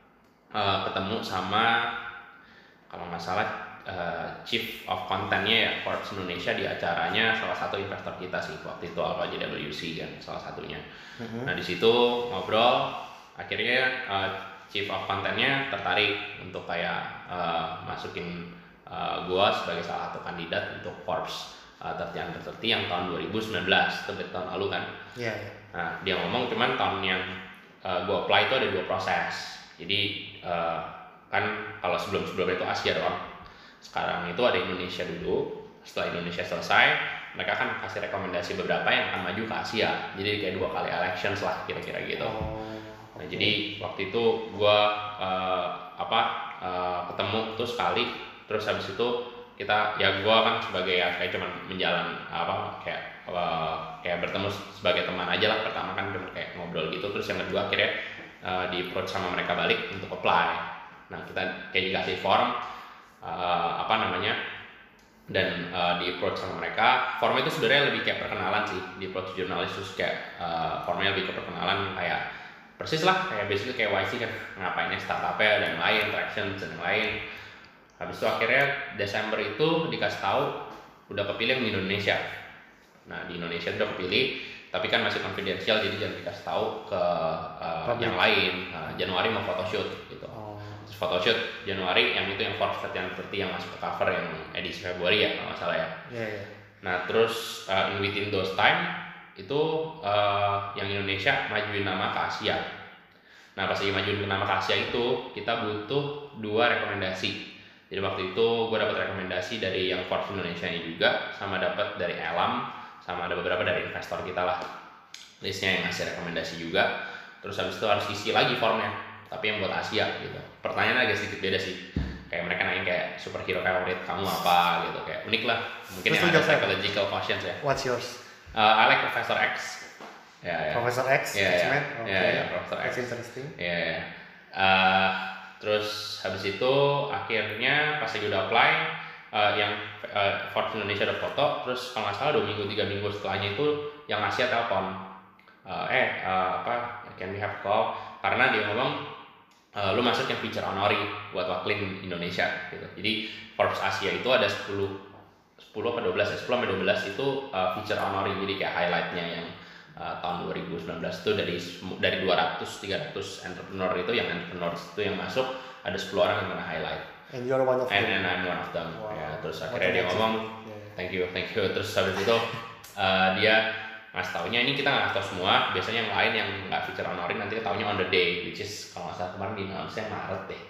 uh, ketemu sama kalau nggak salah uh, Chief of Content-nya ya Forbes Indonesia di acaranya salah satu investor kita sih waktu itu Alpha J W C kan salah satunya. Mm-hmm. Nah di situ ngobrol, akhirnya uh, Chief of Content-nya tertarik untuk kayak uh, masukin uh, gua sebagai salah satu kandidat untuk Forbes uh, thirty under thirty yang tahun dua ribu sembilan belas, itu tahun lalu kan. Iya. Yeah, yeah. Nah dia ngomong cuman tahun yang uh, gua apply itu ada dua proses. Jadi uh, kan kalau sebelum-sebelumnya itu Asia doang. Sekarang itu ada Indonesia dulu. Setelah Indonesia selesai, mereka kan kasih rekomendasi beberapa yang akan maju ke Asia. Jadi kayak dua kali elections lah kira-kira gitu. Oh. Nah, jadi waktu itu gua uh, apa uh, ketemu tuh sekali, terus habis itu kita ya gua kan sebagai ya kayak cuman menjalan apa kayak uh, kayak bertemu sebagai teman aja lah, pertama kan cuma kayak ngobrol gitu, terus yang kedua akhirnya uh, di approach sama mereka balik untuk apply. Nah kita kayak dikasih form uh, apa namanya dan uh, di approach sama mereka, form itu sebenarnya lebih kayak perkenalan sih, di approach jurnalis terus kayak uh, formnya lebih ke perkenalan kayak persis lah kayak basically kayak Y C kan ngapainnya startupnya dan lain, traction dan lain. Habis itu akhirnya Desember itu dikasih tahu udah kepilih di Indonesia. Nah di Indonesia udah kepilih, tapi kan masih confidential jadi jangan dikasih tahu ke uh, yang lain. Nah, Januari mau photoshoot gitu. Oh. Terus photoshoot Januari yang itu yang Forbes thirty under thirty yang masuk ke cover yang edisi Februari ya kalau nggak salah ya. Yeah, yeah. Nah terus uh, in within those time itu uh, yang Indonesia majuin nama ke Asia. Nah pas lagi majuin nama ke Asia itu kita butuh dua rekomendasi. Jadi waktu itu gue dapat rekomendasi dari yang Forbes Indonesia ini juga, sama dapat dari Elam, sama ada beberapa dari investor kita lah. Listnya yang ngasih rekomendasi juga. Terus habis itu harus isi lagi formnya, tapi yang buat Asia gitu. Pertanyaannya agak sedikit beda sih. Kayak mereka nanya kayak superhero favorit kamu apa gitu, kayak unik lah. Mungkin yang ada psychological questions ya. What's yours? Uh, I like Professor X. Ya, ya. Professor X, ya, ya. Okay. Ya, ya, Professor X. That's interesting. Ya, ya. Uh, terus habis itu akhirnya pas lagi udah apply, uh, yang uh, Forbes Indonesia udah foto, terus kalau nggak salah dua minggu tiga minggu setelahnya itu yang Asia telepon, uh, eh uh, apa can we have call? Karena dia ngomong uh, lu masuk yang feature honori buat wakilin Indonesia gitu. Jadi Forbes Asia itu ada sepuluh atau dua belas ya, sepuluh sampai dua belas itu uh, feature honori, jadi kayak highlightnya yang Uh, tahun dua ribu sembilan belas itu dari dari dua ratus tiga ratus entrepreneur itu yang entrepreneur itu yang masuk ada sepuluh orang yang kena highlight. And you're one of and, them. And I'm one of them. Wow. Ya, terus What akhirnya dia ngomong, yeah. thank you, thank you. Terus habis itu uh, dia ngasih taunya ini kita nggak ngasih tau semua. Biasanya yang lain yang nggak feature honorin nanti taunya on the day, which is kalau nggak salah kemarin di Indonesia Maret deh.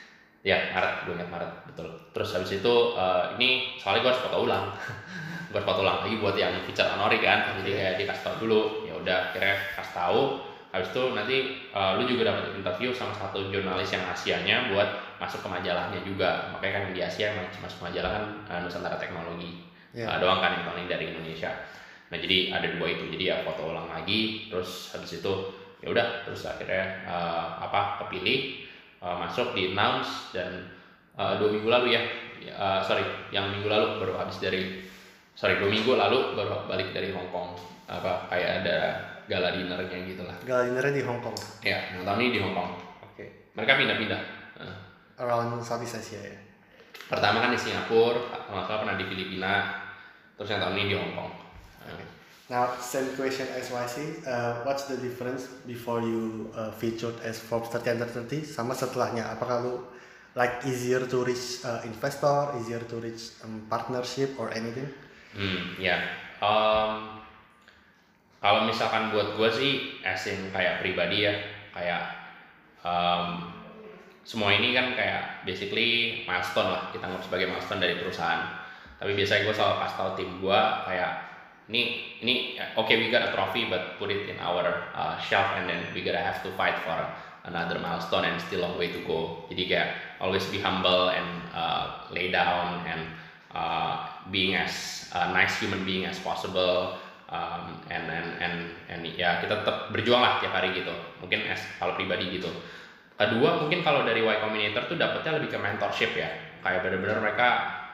Ya Maret, gue ingat Maret betul. Terus habis itu uh, ini soalnya gue harus foto ulang. gue harus foto ulang lagi buat yang feature honori kan. Jadi kayak dikasih tau dulu. Udah akhirnya kasih tahu, habis itu nanti uh, lu juga dapat interview sama satu jurnalis yang Asianya buat masuk ke majalahnya juga. Makanya kan di Asia yang masuk ke majalah kan uh, Nusantara Teknologi yeah. uh, doang kan yang paling dari Indonesia. Nah jadi ada dua itu, jadi ya foto ulang lagi, terus habis itu ya udah terus akhirnya uh, apa kepilih, uh, masuk di announce dan uh, dua minggu lalu ya, uh, sorry yang minggu lalu baru habis dari sorry dua minggu lalu baru balik dari Hong Kong. Apa kayak ada gala dinnernya gitu lah. Gala dinnernya di Hong Kong. Ya, yang tahun ini di Hong Kong. Oke. Okay. Mereka pindah-pindah. Uh. Around Southeast Asia ya. Pertama kan di Singapura, kalau nggak pernah di Filipina, terus yang tahun ini di Hong Kong. Uh. Okay. Now same question as Y C. Uh, what's the difference before you uh, featured as Forbes thirty under thirty sama setelahnya? Apakah lu like easier to reach uh, investor, easier to reach um, partnership or anything? Hmm, ya. Yeah. Um, Kalau misalkan buat gue sih, as in kayak pribadi ya, kayak um, semua ini kan kayak basically milestone lah, kita anggap sebagai milestone dari perusahaan. Tapi biasanya gue selalu kasih tau tim gue kayak ini ini oke okay, we got a trophy but put it in our uh, shelf and then we gotta have to fight for another milestone and still a long way to go. Jadi kayak always be humble and uh, lay down and uh, being as a nice human being as possible. Um, and and and and ya kita tetap berjuang lah tiap hari gitu. Mungkin as kalau pribadi gitu. Kedua mungkin kalau dari Y Combinator tuh dapetnya lebih ke mentorship ya. Kayak benar-benar mereka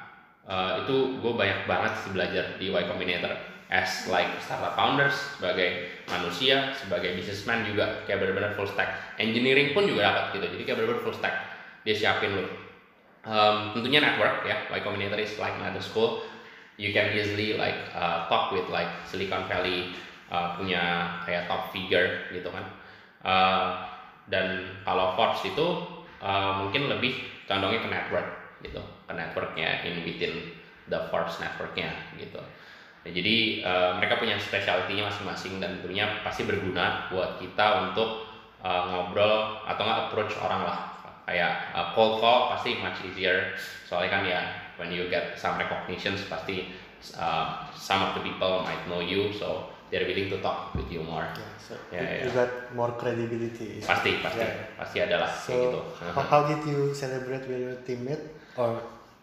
uh, itu gue banyak banget sih belajar di Y Combinator as like startup founders, sebagai manusia, sebagai businessman juga kayak benar-benar full stack. Engineering pun juga dapat gitu. Jadi kayak benar-benar full stack. Dia siapin lu. Um, tentunya network ya. Y Combinator is like another school. You can easily like uh, talk with like Silicon Valley uh, punya kayak top figure gitu kan. Uh, dan kalau Forbes itu uh, mungkin lebih condongnya ke network gitu, ke networknya in within the Forbes networknya gitu. Nah, jadi uh, mereka punya specialty-nya masing-masing dan tentunya pasti berguna buat kita untuk uh, ngobrol atau nggak approach orang lah. Kayak uh, cold call pasti much easier soalnya kan ya when you get some recognitions pasti uh, some of the people might know you so they're willing to talk with you more. Yeah, so yeah, you, yeah. you got more credibility. Pasti, pasti, yeah. pasti adalah so, kayak gitu. How, how did you celebrate with your teammate or?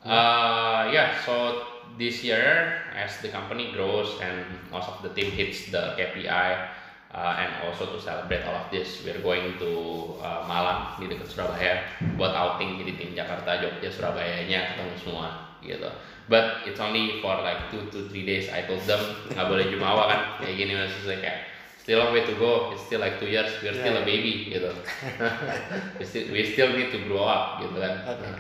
Uh, yeah, so this year as the company grows and most of the team hits the K P I uh, and also to celebrate all of this, we're going to uh, Malang di dekat Surabaya buat outing jadi tim Jakarta, Jogja, Surabayanya ketemu semua gitu. But it's only for like two to three days. I told them nggak boleh jumawa kan kayak gini maksudnya kayak still a way to go. It's still like two years. We're yeah. still a baby gitu. we still we still need to grow up gitu kan. Okay.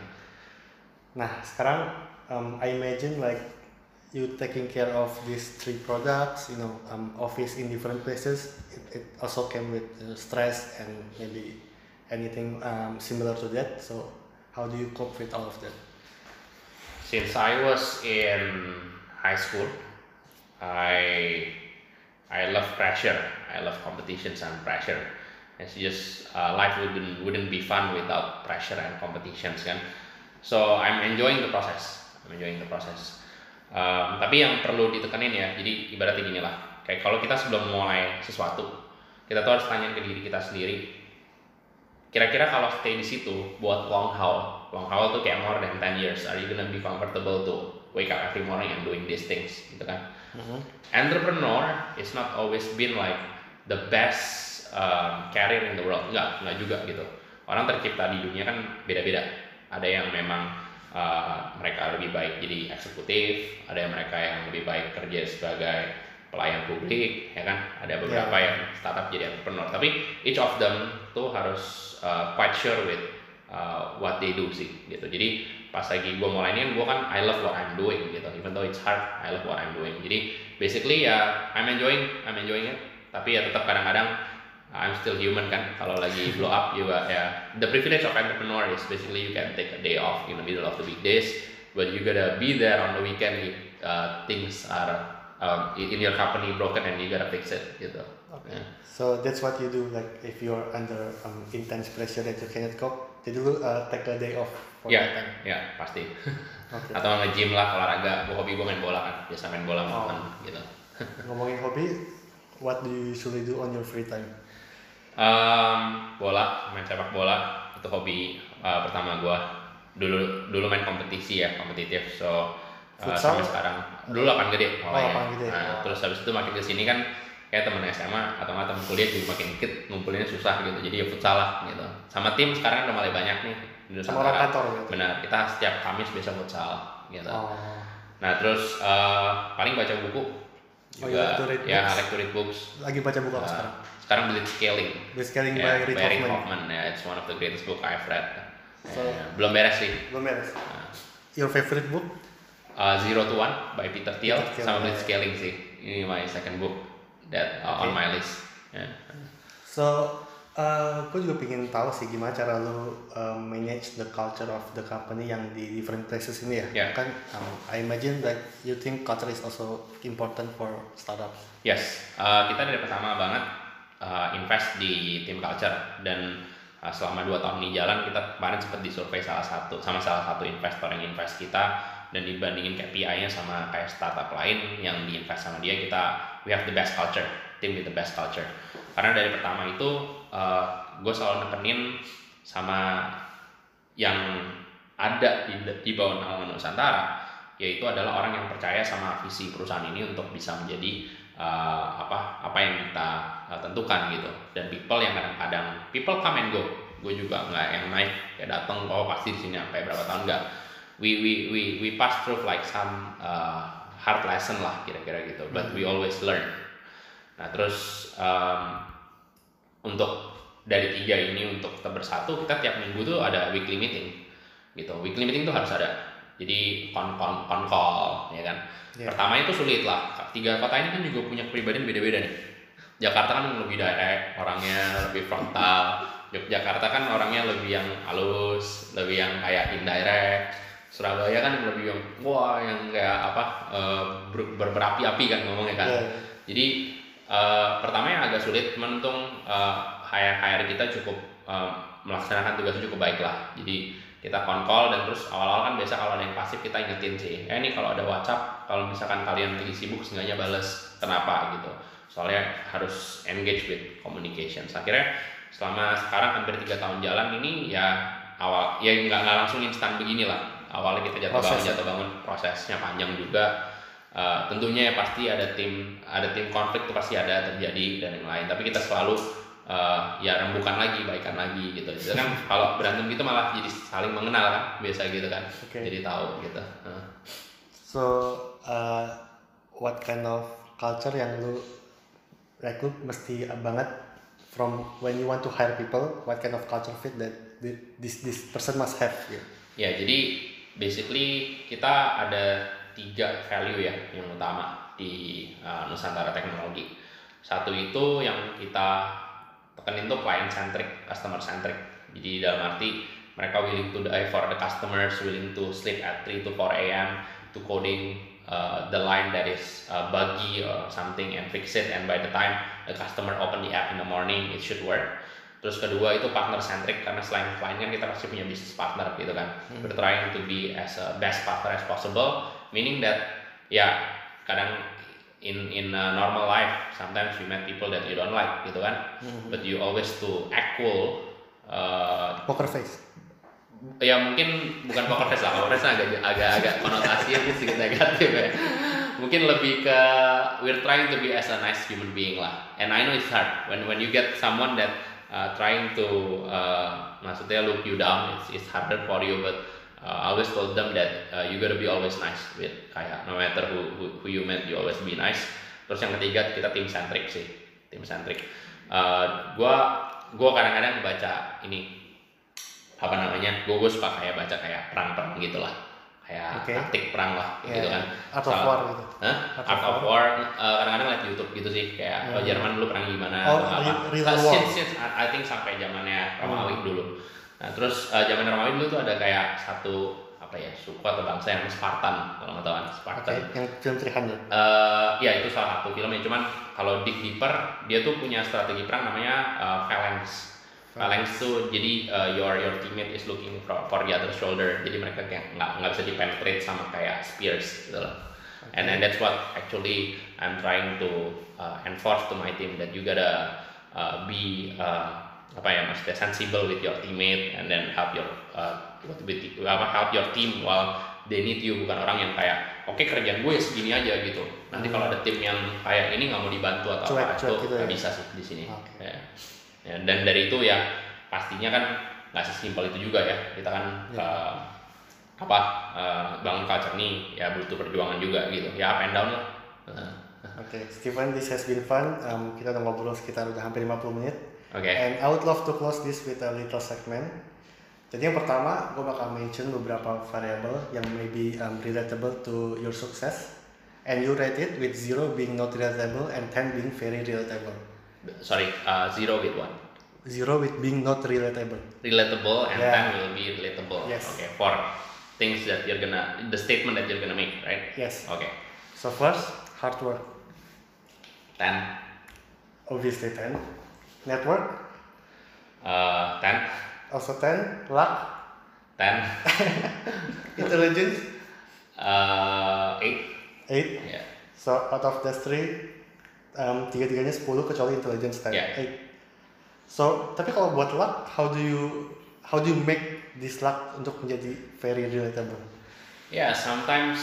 Nah sekarang um, I imagine like you taking care of these three products, you know, um, office in different places. It, it also came with uh, stress and maybe anything um, similar to that. So how do you cope with all of that? Since I was in high school, I I love pressure. I love competitions and pressure. It's just uh, life wouldn't wouldn't be fun without pressure and competitions kan. So I'm enjoying the process. I'm enjoying the process. Um, tapi yang perlu ditekanin ya. Jadi ibaratnya gini lah. Kayak kalau kita sebelum mulai sesuatu, kita tuh harus tanya ke diri kita sendiri. Kira-kira kalau stay di situ buat long haul, long haul tuh kayak more than ten years, are you gonna be comfortable to wake up every morning and doing these things, gitu kan? Mm-hmm. Entrepreneur is not always been like the best um, career in the world, enggak, enggak juga gitu. Orang tercipta di dunia kan beda-beda. Ada yang memang uh, mereka lebih baik jadi eksekutif, ada yang mereka yang lebih baik kerja sebagai pelayan publik, ya kan? Ada beberapa yeah. yang startup jadi entrepreneur. Tapi each of them tuh harus uh, quite sure with uh, what they do sih, gitu. Jadi pas lagi gue mulai ini, gue kan I love what I'm doing, gitu. Even though it's hard, I love what I'm doing. Jadi basically ya I'm enjoying, I'm enjoying it. Tapi ya tetap kadang-kadang I'm still human kan. Kalau lagi blow up juga ya. The privilege of entrepreneur is basically you can take a day off in the middle of the weekdays, but you gotta be there on the weekend if uh, things are Um, in your company broken and you gotta fix it gitu. Okay. Yeah. So that's what you do like if you're under um, intense pressure that you cannot cope, jadi lu uh, take a day off for yeah. that time. Ya, yeah, pasti. Okay. Atau nge-gym lah, olahraga. Gua hobi gua main bola kan, biasa main bola sama oh. teman gitu. Ngomongin hobi, what do you usually do on your free time? Um, bola, main sepak bola itu hobi uh, pertama gua. Dulu dulu main kompetisi ya, kompetitif. So Uh, sampai sekarang dulu lapangan gede oh, lapangan gede. Nah, oh. Terus habis itu makin kesini kan kayak temen S M A atau nggak temen kuliah juga makin dikit, ngumpulinnya susah gitu, jadi ya futsal lah gitu. Sama tim sekarang udah mulai banyak nih di sama orang kantor gitu. Benar, kita setiap Kamis biasa futsal gitu. Oh. Nah terus uh, paling baca buku juga. Oh, ya, I like to read books. Lagi baca buku apa uh, sekarang? Sekarang Blitzscaling. Blitzscaling yeah, by Reid Hoffman. Hoffman. Yeah, it's one of the greatest book I've read. So, yeah, belum beres sih. Belum beres. Uh, Your favorite book? Uh, Zero to One by Peter Thiel, Peter Thiel sama Blitzscaling yeah. sih. Ini my second book that uh, okay. on my list. Yeah. So, uh, aku juga pengen tahu sih gimana cara lu uh, manage the culture of the company yang di different places ini ya. Yeah. Kan, um, I imagine that you think culture is also important for startups. Yes, uh, kita dari pertama banget uh, invest di team culture. Dan uh, selama dua tahun ini jalan, kita kemarin sempat disurvey salah satu sama salah satu investor yang invest kita, dan dibandingin K P I-nya sama kayak startup lain yang diinvest sama dia, kita we have the best culture, team with the best culture. Karena dari pertama itu uh, gue selalu nekenin sama yang ada di, di bawah naungan Nusantara, yaitu adalah orang yang percaya sama visi perusahaan ini untuk bisa menjadi uh, apa apa yang kita uh, tentukan gitu. Dan people yang kadang-kadang people come and go, gue juga nggak yang naik kayak datang oh pasti di sini sampai berapa tahun, nggak. We we we we pass through like some uh, hard lesson lah kira-kira gitu, but we always learn. Nah terus um, untuk dari tiga ini untuk tetap bersatu, kita tiap minggu tuh ada weekly meeting gitu. Weekly meeting tuh harus ada. Jadi kon kon kon call ya kan. Yeah. Pertama itu sulit lah. Tiga kota ini kan juga punya kepribadian beda-beda nih. Jakarta kan lebih direct, orangnya lebih frontal. Yogyakarta kan orangnya lebih yang halus, lebih yang kayak indirect. Surabaya kan lebih yang wah yang kayak apa uh, ber, ber, berapi-api kan ngomongnya kan. Yeah. Jadi uh, pertama yang agak sulit, menuntung uh, hire hire kita cukup uh, melaksanakan tugasnya cukup baik lah. Jadi kita phone call, dan terus awal-awal kan biasa kalau ada yang pasif kita ingetin sih, eh ini kalau ada WhatsApp, kalau misalkan kalian lagi sibuk seenggaknya bales, kenapa gitu. Soalnya harus engage with communications. Akhirnya selama sekarang hampir tiga tahun jalan ini ya awal ya nggak nggak langsung instan begini lah. Awalnya kita jatuh bangun jatuh bangun prosesnya panjang juga. Uh, tentunya ya pasti ada tim ada tim konflik itu pasti ada terjadi dan yang lain. Tapi kita selalu uh, ya rembukan lagi, baikan lagi gitu. Jadi kan kalau berantem gitu malah jadi saling mengenal kan, biasa gitu kan. Okay. Jadi tahu gitu. Uh. So uh, what kind of culture yang lu rekrut mesti banget from when you want to hire people? What kind of culture fit that this this person must have? Yeah. Ya jadi basically kita ada tiga value ya yang utama di uh, Nusantara Teknologi. Satu itu yang kita tekenin tuh client centric, customer centric. Jadi dalam arti mereka willing to die for the customers, willing to sleep at three to four a m to coding uh, the line that is uh, buggy or something and fix it, and by the time the customer open the app in the morning it should work. Terus kedua itu partner centric, karena selain client kan kita pasti punya business partner gitu kan. Hmm. We're trying to be as a best partner as possible, meaning that ya kadang in in a normal life sometimes you met people that you don't like gitu kan. Hmm. But you always to act cool. Uh, poker face. Ya mungkin bukan poker face lah, poker face agak agak agak konotasinya sedikit negatif ya. Mungkin lebih ke we're trying to be as a nice human being lah. And I know it's hard when when you get someone that Uh, trying to uh, maksudnya look you down, it's, it's harder for you, but uh, I always told them that uh, you gotta be always nice with kayak no matter who, who who you met, you always be nice. Terus yang ketiga kita tim centric sih, tim centric. Uh, gua gua kadang-kadang baca ini apa namanya, gua gua suka kayak baca kayak perang-perang gitulah, kayak okay. taktik perang lah yeah, gitu kan. Art of War gitu. Huh? Art, Art of War. Uh, kadang-kadang liat YouTube gitu sih, kayak yeah. Jerman dulu perang gimana. Oh, apa. Real war. Since, since, I think sampai zamannya Romawi hmm. dulu. Nah terus uh, zaman Romawi dulu tuh ada kayak satu apa ya suku atau bangsa yang Spartan, kalau nggak tahu kan Spartan. Okay. Yang film tiga ratus. Uh, ya itu salah satu filmnya. Cuman kalau dig deeper dia tuh punya strategi perang namanya uh, phalanx. Phalanx tuh jadi uh, your your teammate is looking for, for the other shoulder, jadi mereka kayak nggak nggak bisa dipenetrate sama kayak spears gitu loh. Okay. And then that's what actually I'm trying to uh, enforce to my team, that you gotta uh, be uh, apa ya maksudnya sensible with your teammate and then help your uh, with, apa help your team while they need you, bukan orang yang kayak oke okay, kerjaan gue ya segini aja gitu. Nanti hmm. kalau ada tim yang kayak ini nggak mau dibantu atau cuek, apa cuek itu nggak gitu ya? Bisa sih di sini. Okay. Ya. Ya, dan dari itu ya pastinya kan nggak sesimpel itu juga ya, kita kan yeah. uh, apa uh, bangun culture nih ya butuh perjuangan juga gitu ya, up and down lah. Uh. Oke, okay, Steven, this has been fun. Um, kita udah ngobrol sekitar udah hampir lima puluh menit. Oke. Okay. And I would love to close this with a little segment. Jadi yang pertama, gue bakal mention beberapa variable yang maybe um, relatable to your success, and you rate it with zero being not relatable and ten being very relatable. Sorry, uh, zero with what? Zero with being not relatable. Relatable and yeah. ten will be relatable. Yes. Okay, for things that you're gonna, the statement that you're gonna make, right? Yes. Okay. So first, hard work. ten. Obviously ten. Network? Uh, ten. Also ten. Luck? ten. Intelligence? Uh, eight. eight? Yeah. So out of the three, um, tiga-tiganya sepuluh kecuali intelligence ten. Yeah. eight. So, tapi kalau buat luck, how do you how do you make this luck untuk menjadi very relatable? Yeah, sometimes.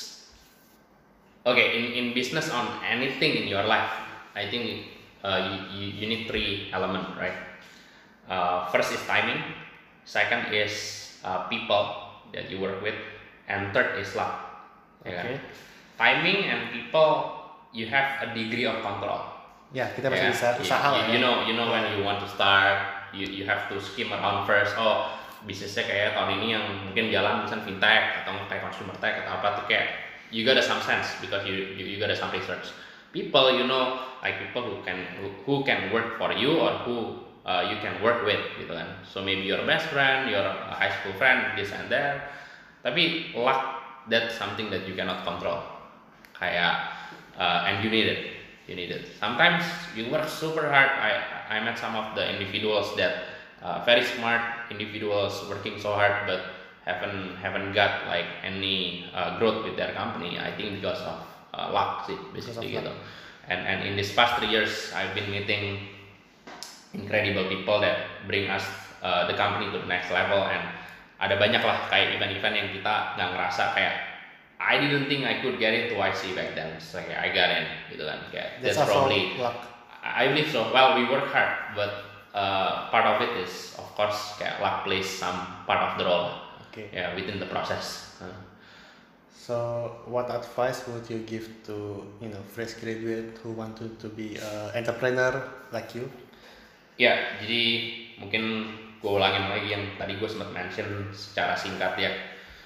Okay, in, in business on anything in your life, I think uh, you, you, you need three elements, right? Uh, first is timing, second is uh, people that you work with, and third is luck. Ya kan? Okay. Timing and people, you have a degree of control. Ya, kita masih Ya, bisa you, usaha lah you, you ya. know, you know when you want to start, you you have to skim around first. Oh, bisnisnya kayak tahun ini yang mungkin jalan misalnya fintech atau kayak consumer tech atau apa tuh kayak you got some sense because you you, you got some research. People, you know, like people who can who, who can work for you or who uh, you can work with gitu kan. So maybe your best friend, your high school friend, this and that. Tapi luck, that's something that you cannot control. Kayak uh, and you need it. You need it. Sometimes you work super hard. I I met some of the individuals that uh, very smart individuals working so hard but haven't haven't got like any uh, growth with their company. I think because of uh, luck sih basically gitu. And and in these past three years I've been meeting incredible people that bring us uh, the company to the next level, and ada banyak lah kayak event-event yang kita nggak ngerasa kayak I didn't think I could get into Y C back then. So kayak I got in gitu kan. Kayak that's, That's also probably luck. I believe so. Well, we work hard, but uh, part of it is of course kayak luck plays some part of the role. Okay. Yeah, within the process. Uh. So, what advice would you give to you know fresh graduate who want to, to be an entrepreneur like you? Ya, jadi mungkin gue ulangin lagi yang tadi gue sempat mention secara singkat ya.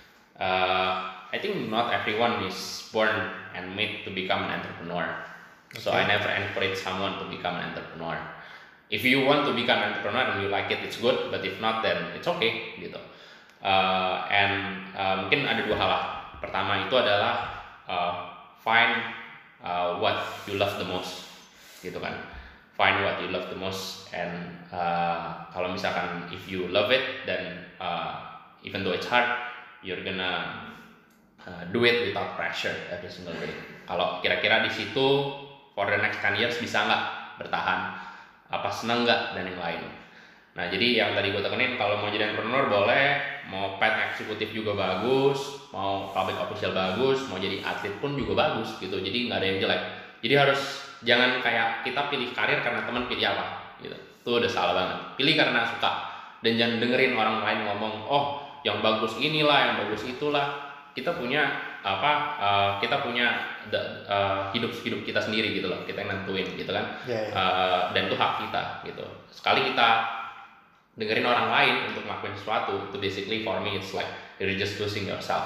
Uh, I think not everyone is born and made to become an entrepreneur. Okay. So I never encourage someone to become an entrepreneur. If you want to become an entrepreneur and you like it, it's good. But if not, then it's okay gitu. Uh, and uh, mungkin ada dua hal lah. Pertama itu adalah uh, find uh, what you love the most, gitu kan. Find what you love the most, and uh, kalau misalkan if you love it, then uh, even though it's hard, you're gonna uh, do it without pressure every single day. Kalau kira-kira di situ for the next ten years bisa nggak bertahan, apa seneng nggak dan yang lain. Nah jadi yang tadi gue tekenin kalau mau jadi entrepreneur boleh, mau paid eksekutif juga bagus, mau public official bagus, mau jadi atlet pun juga bagus gitu. Jadi nggak ada yang jelek. Jadi harus jangan kayak kita pilih karir karena teman pilih apa gitu. Itu udah salah banget. Pilih karena suka dan jangan dengerin orang lain ngomong, oh yang bagus inilah, yang bagus itulah. Kita punya apa? Uh, kita punya the, uh, hidup hidup kita sendiri gitu loh. Kita yang nentuin gitu kan. Yeah, yeah. Uh, dan itu hak kita gitu. Sekali kita dengerin orang lain untuk ngelakuin sesuatu, itu basically for me it's like you're just losing yourself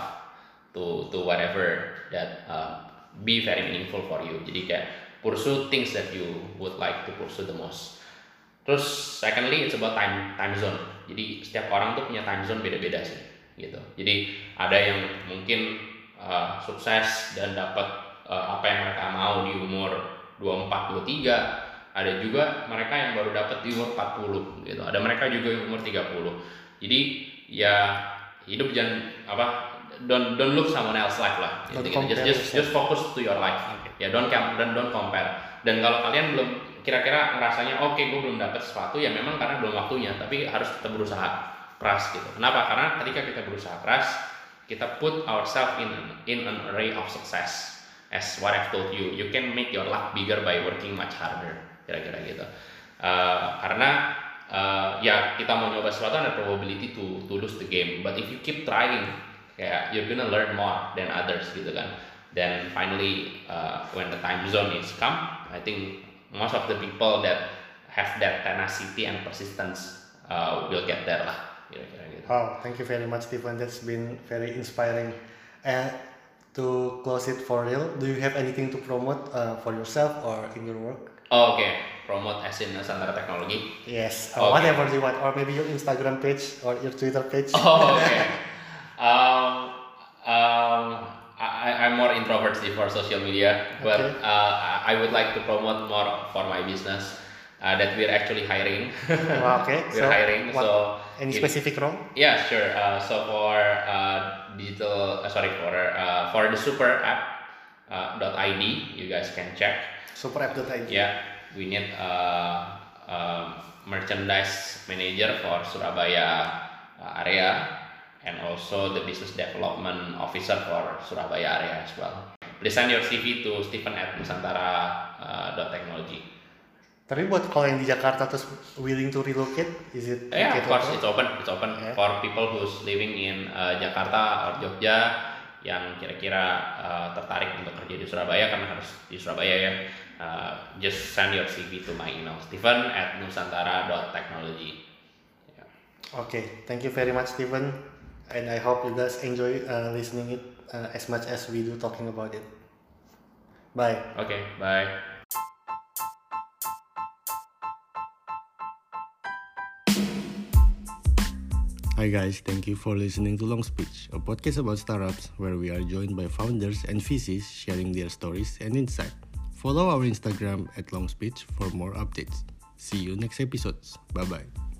to to whatever that uh, be very meaningful for you. Jadi kayak pursue things that you would like to pursue the most. Terus secondly it's about time time zone. Jadi setiap orang tuh punya time zone beda-beda sih gitu. Jadi ada yang mungkin uh, sukses dan dapat uh, apa yang mereka mau di umur dua puluh empat, dua puluh tiga. Ada juga mereka yang baru dapat di umur empat puluh gitu. Ada mereka juga yang umur tiga puluh. Jadi ya hidup jangan apa don't don't look someone else life lah. Gitu, gitu. Just just just focus to your life. Ya don't don't don't compare. Dan kalau kalian belum kira-kira ngerasanya oke okay, gue belum dapat sesuatu ya memang karena belum waktunya, tapi harus kita berusaha keras gitu. Kenapa? Karena ketika kita berusaha keras, kita put ourselves in in an array of success. As what I've told you, you can make your luck bigger by working much harder. Kira-kira gitu. Uh, karena uh, ya kita mau nyoba sesuatu ada probability to to lose the game, but if you keep trying, kayak you're gonna learn more than others gitu kan. Then finally uh, when the time zone is come, I think most of the people that have that tenacity and persistence uh, will get there lah. Kira-kira gitu. Wow, thank you very much, Stephen. That's been very inspiring. And to close it for real, do you have anything to promote uh, for yourself or in your work? Oh, oke, okay. Promote as in Nusantara Teknologi. Yes, uh, okay. Whatever you want, or maybe your Instagram page or your Twitter page. Oh, oke. Okay. um, um, I, I'm more introvert sih for social media, but okay. uh, I would like to promote more for my business. uh, that we're actually hiring. Well, okay. we're so hiring. What, so any if, specific role? Yeah, sure. Uh, so for uh, digital, uh, sorry for uh, for the super app uh, .id, you guys can check. Superapp dot I D. Yeah, we need a uh, uh, merchandise manager for Surabaya uh, area, and also the business development officer for Surabaya area as well. Please send your C V to Stephen at nusantara dot technology. Tapi buat kalau yang di Jakarta terus willing to relocate, is it? Yeah, okay of course, open? it's open. It's open yeah. for people who's living in uh, Jakarta or Jogja yang kira-kira uh, tertarik untuk kerja di Surabaya, karena harus di Surabaya ya. Uh, just send your C V to my email, Stephen at nusantara dot technology. Yeah. Okay, thank you very much, Stephen, and I hope you guys enjoy uh, listening it uh, as much as we do talking about it. Bye. Okay, bye. Hi guys, thank you for listening to Long Speech, a podcast about startups where we are joined by founders and V Cs sharing their stories and insight. Follow our Instagram at Long Speech for more updates. See you next episodes. Bye bye.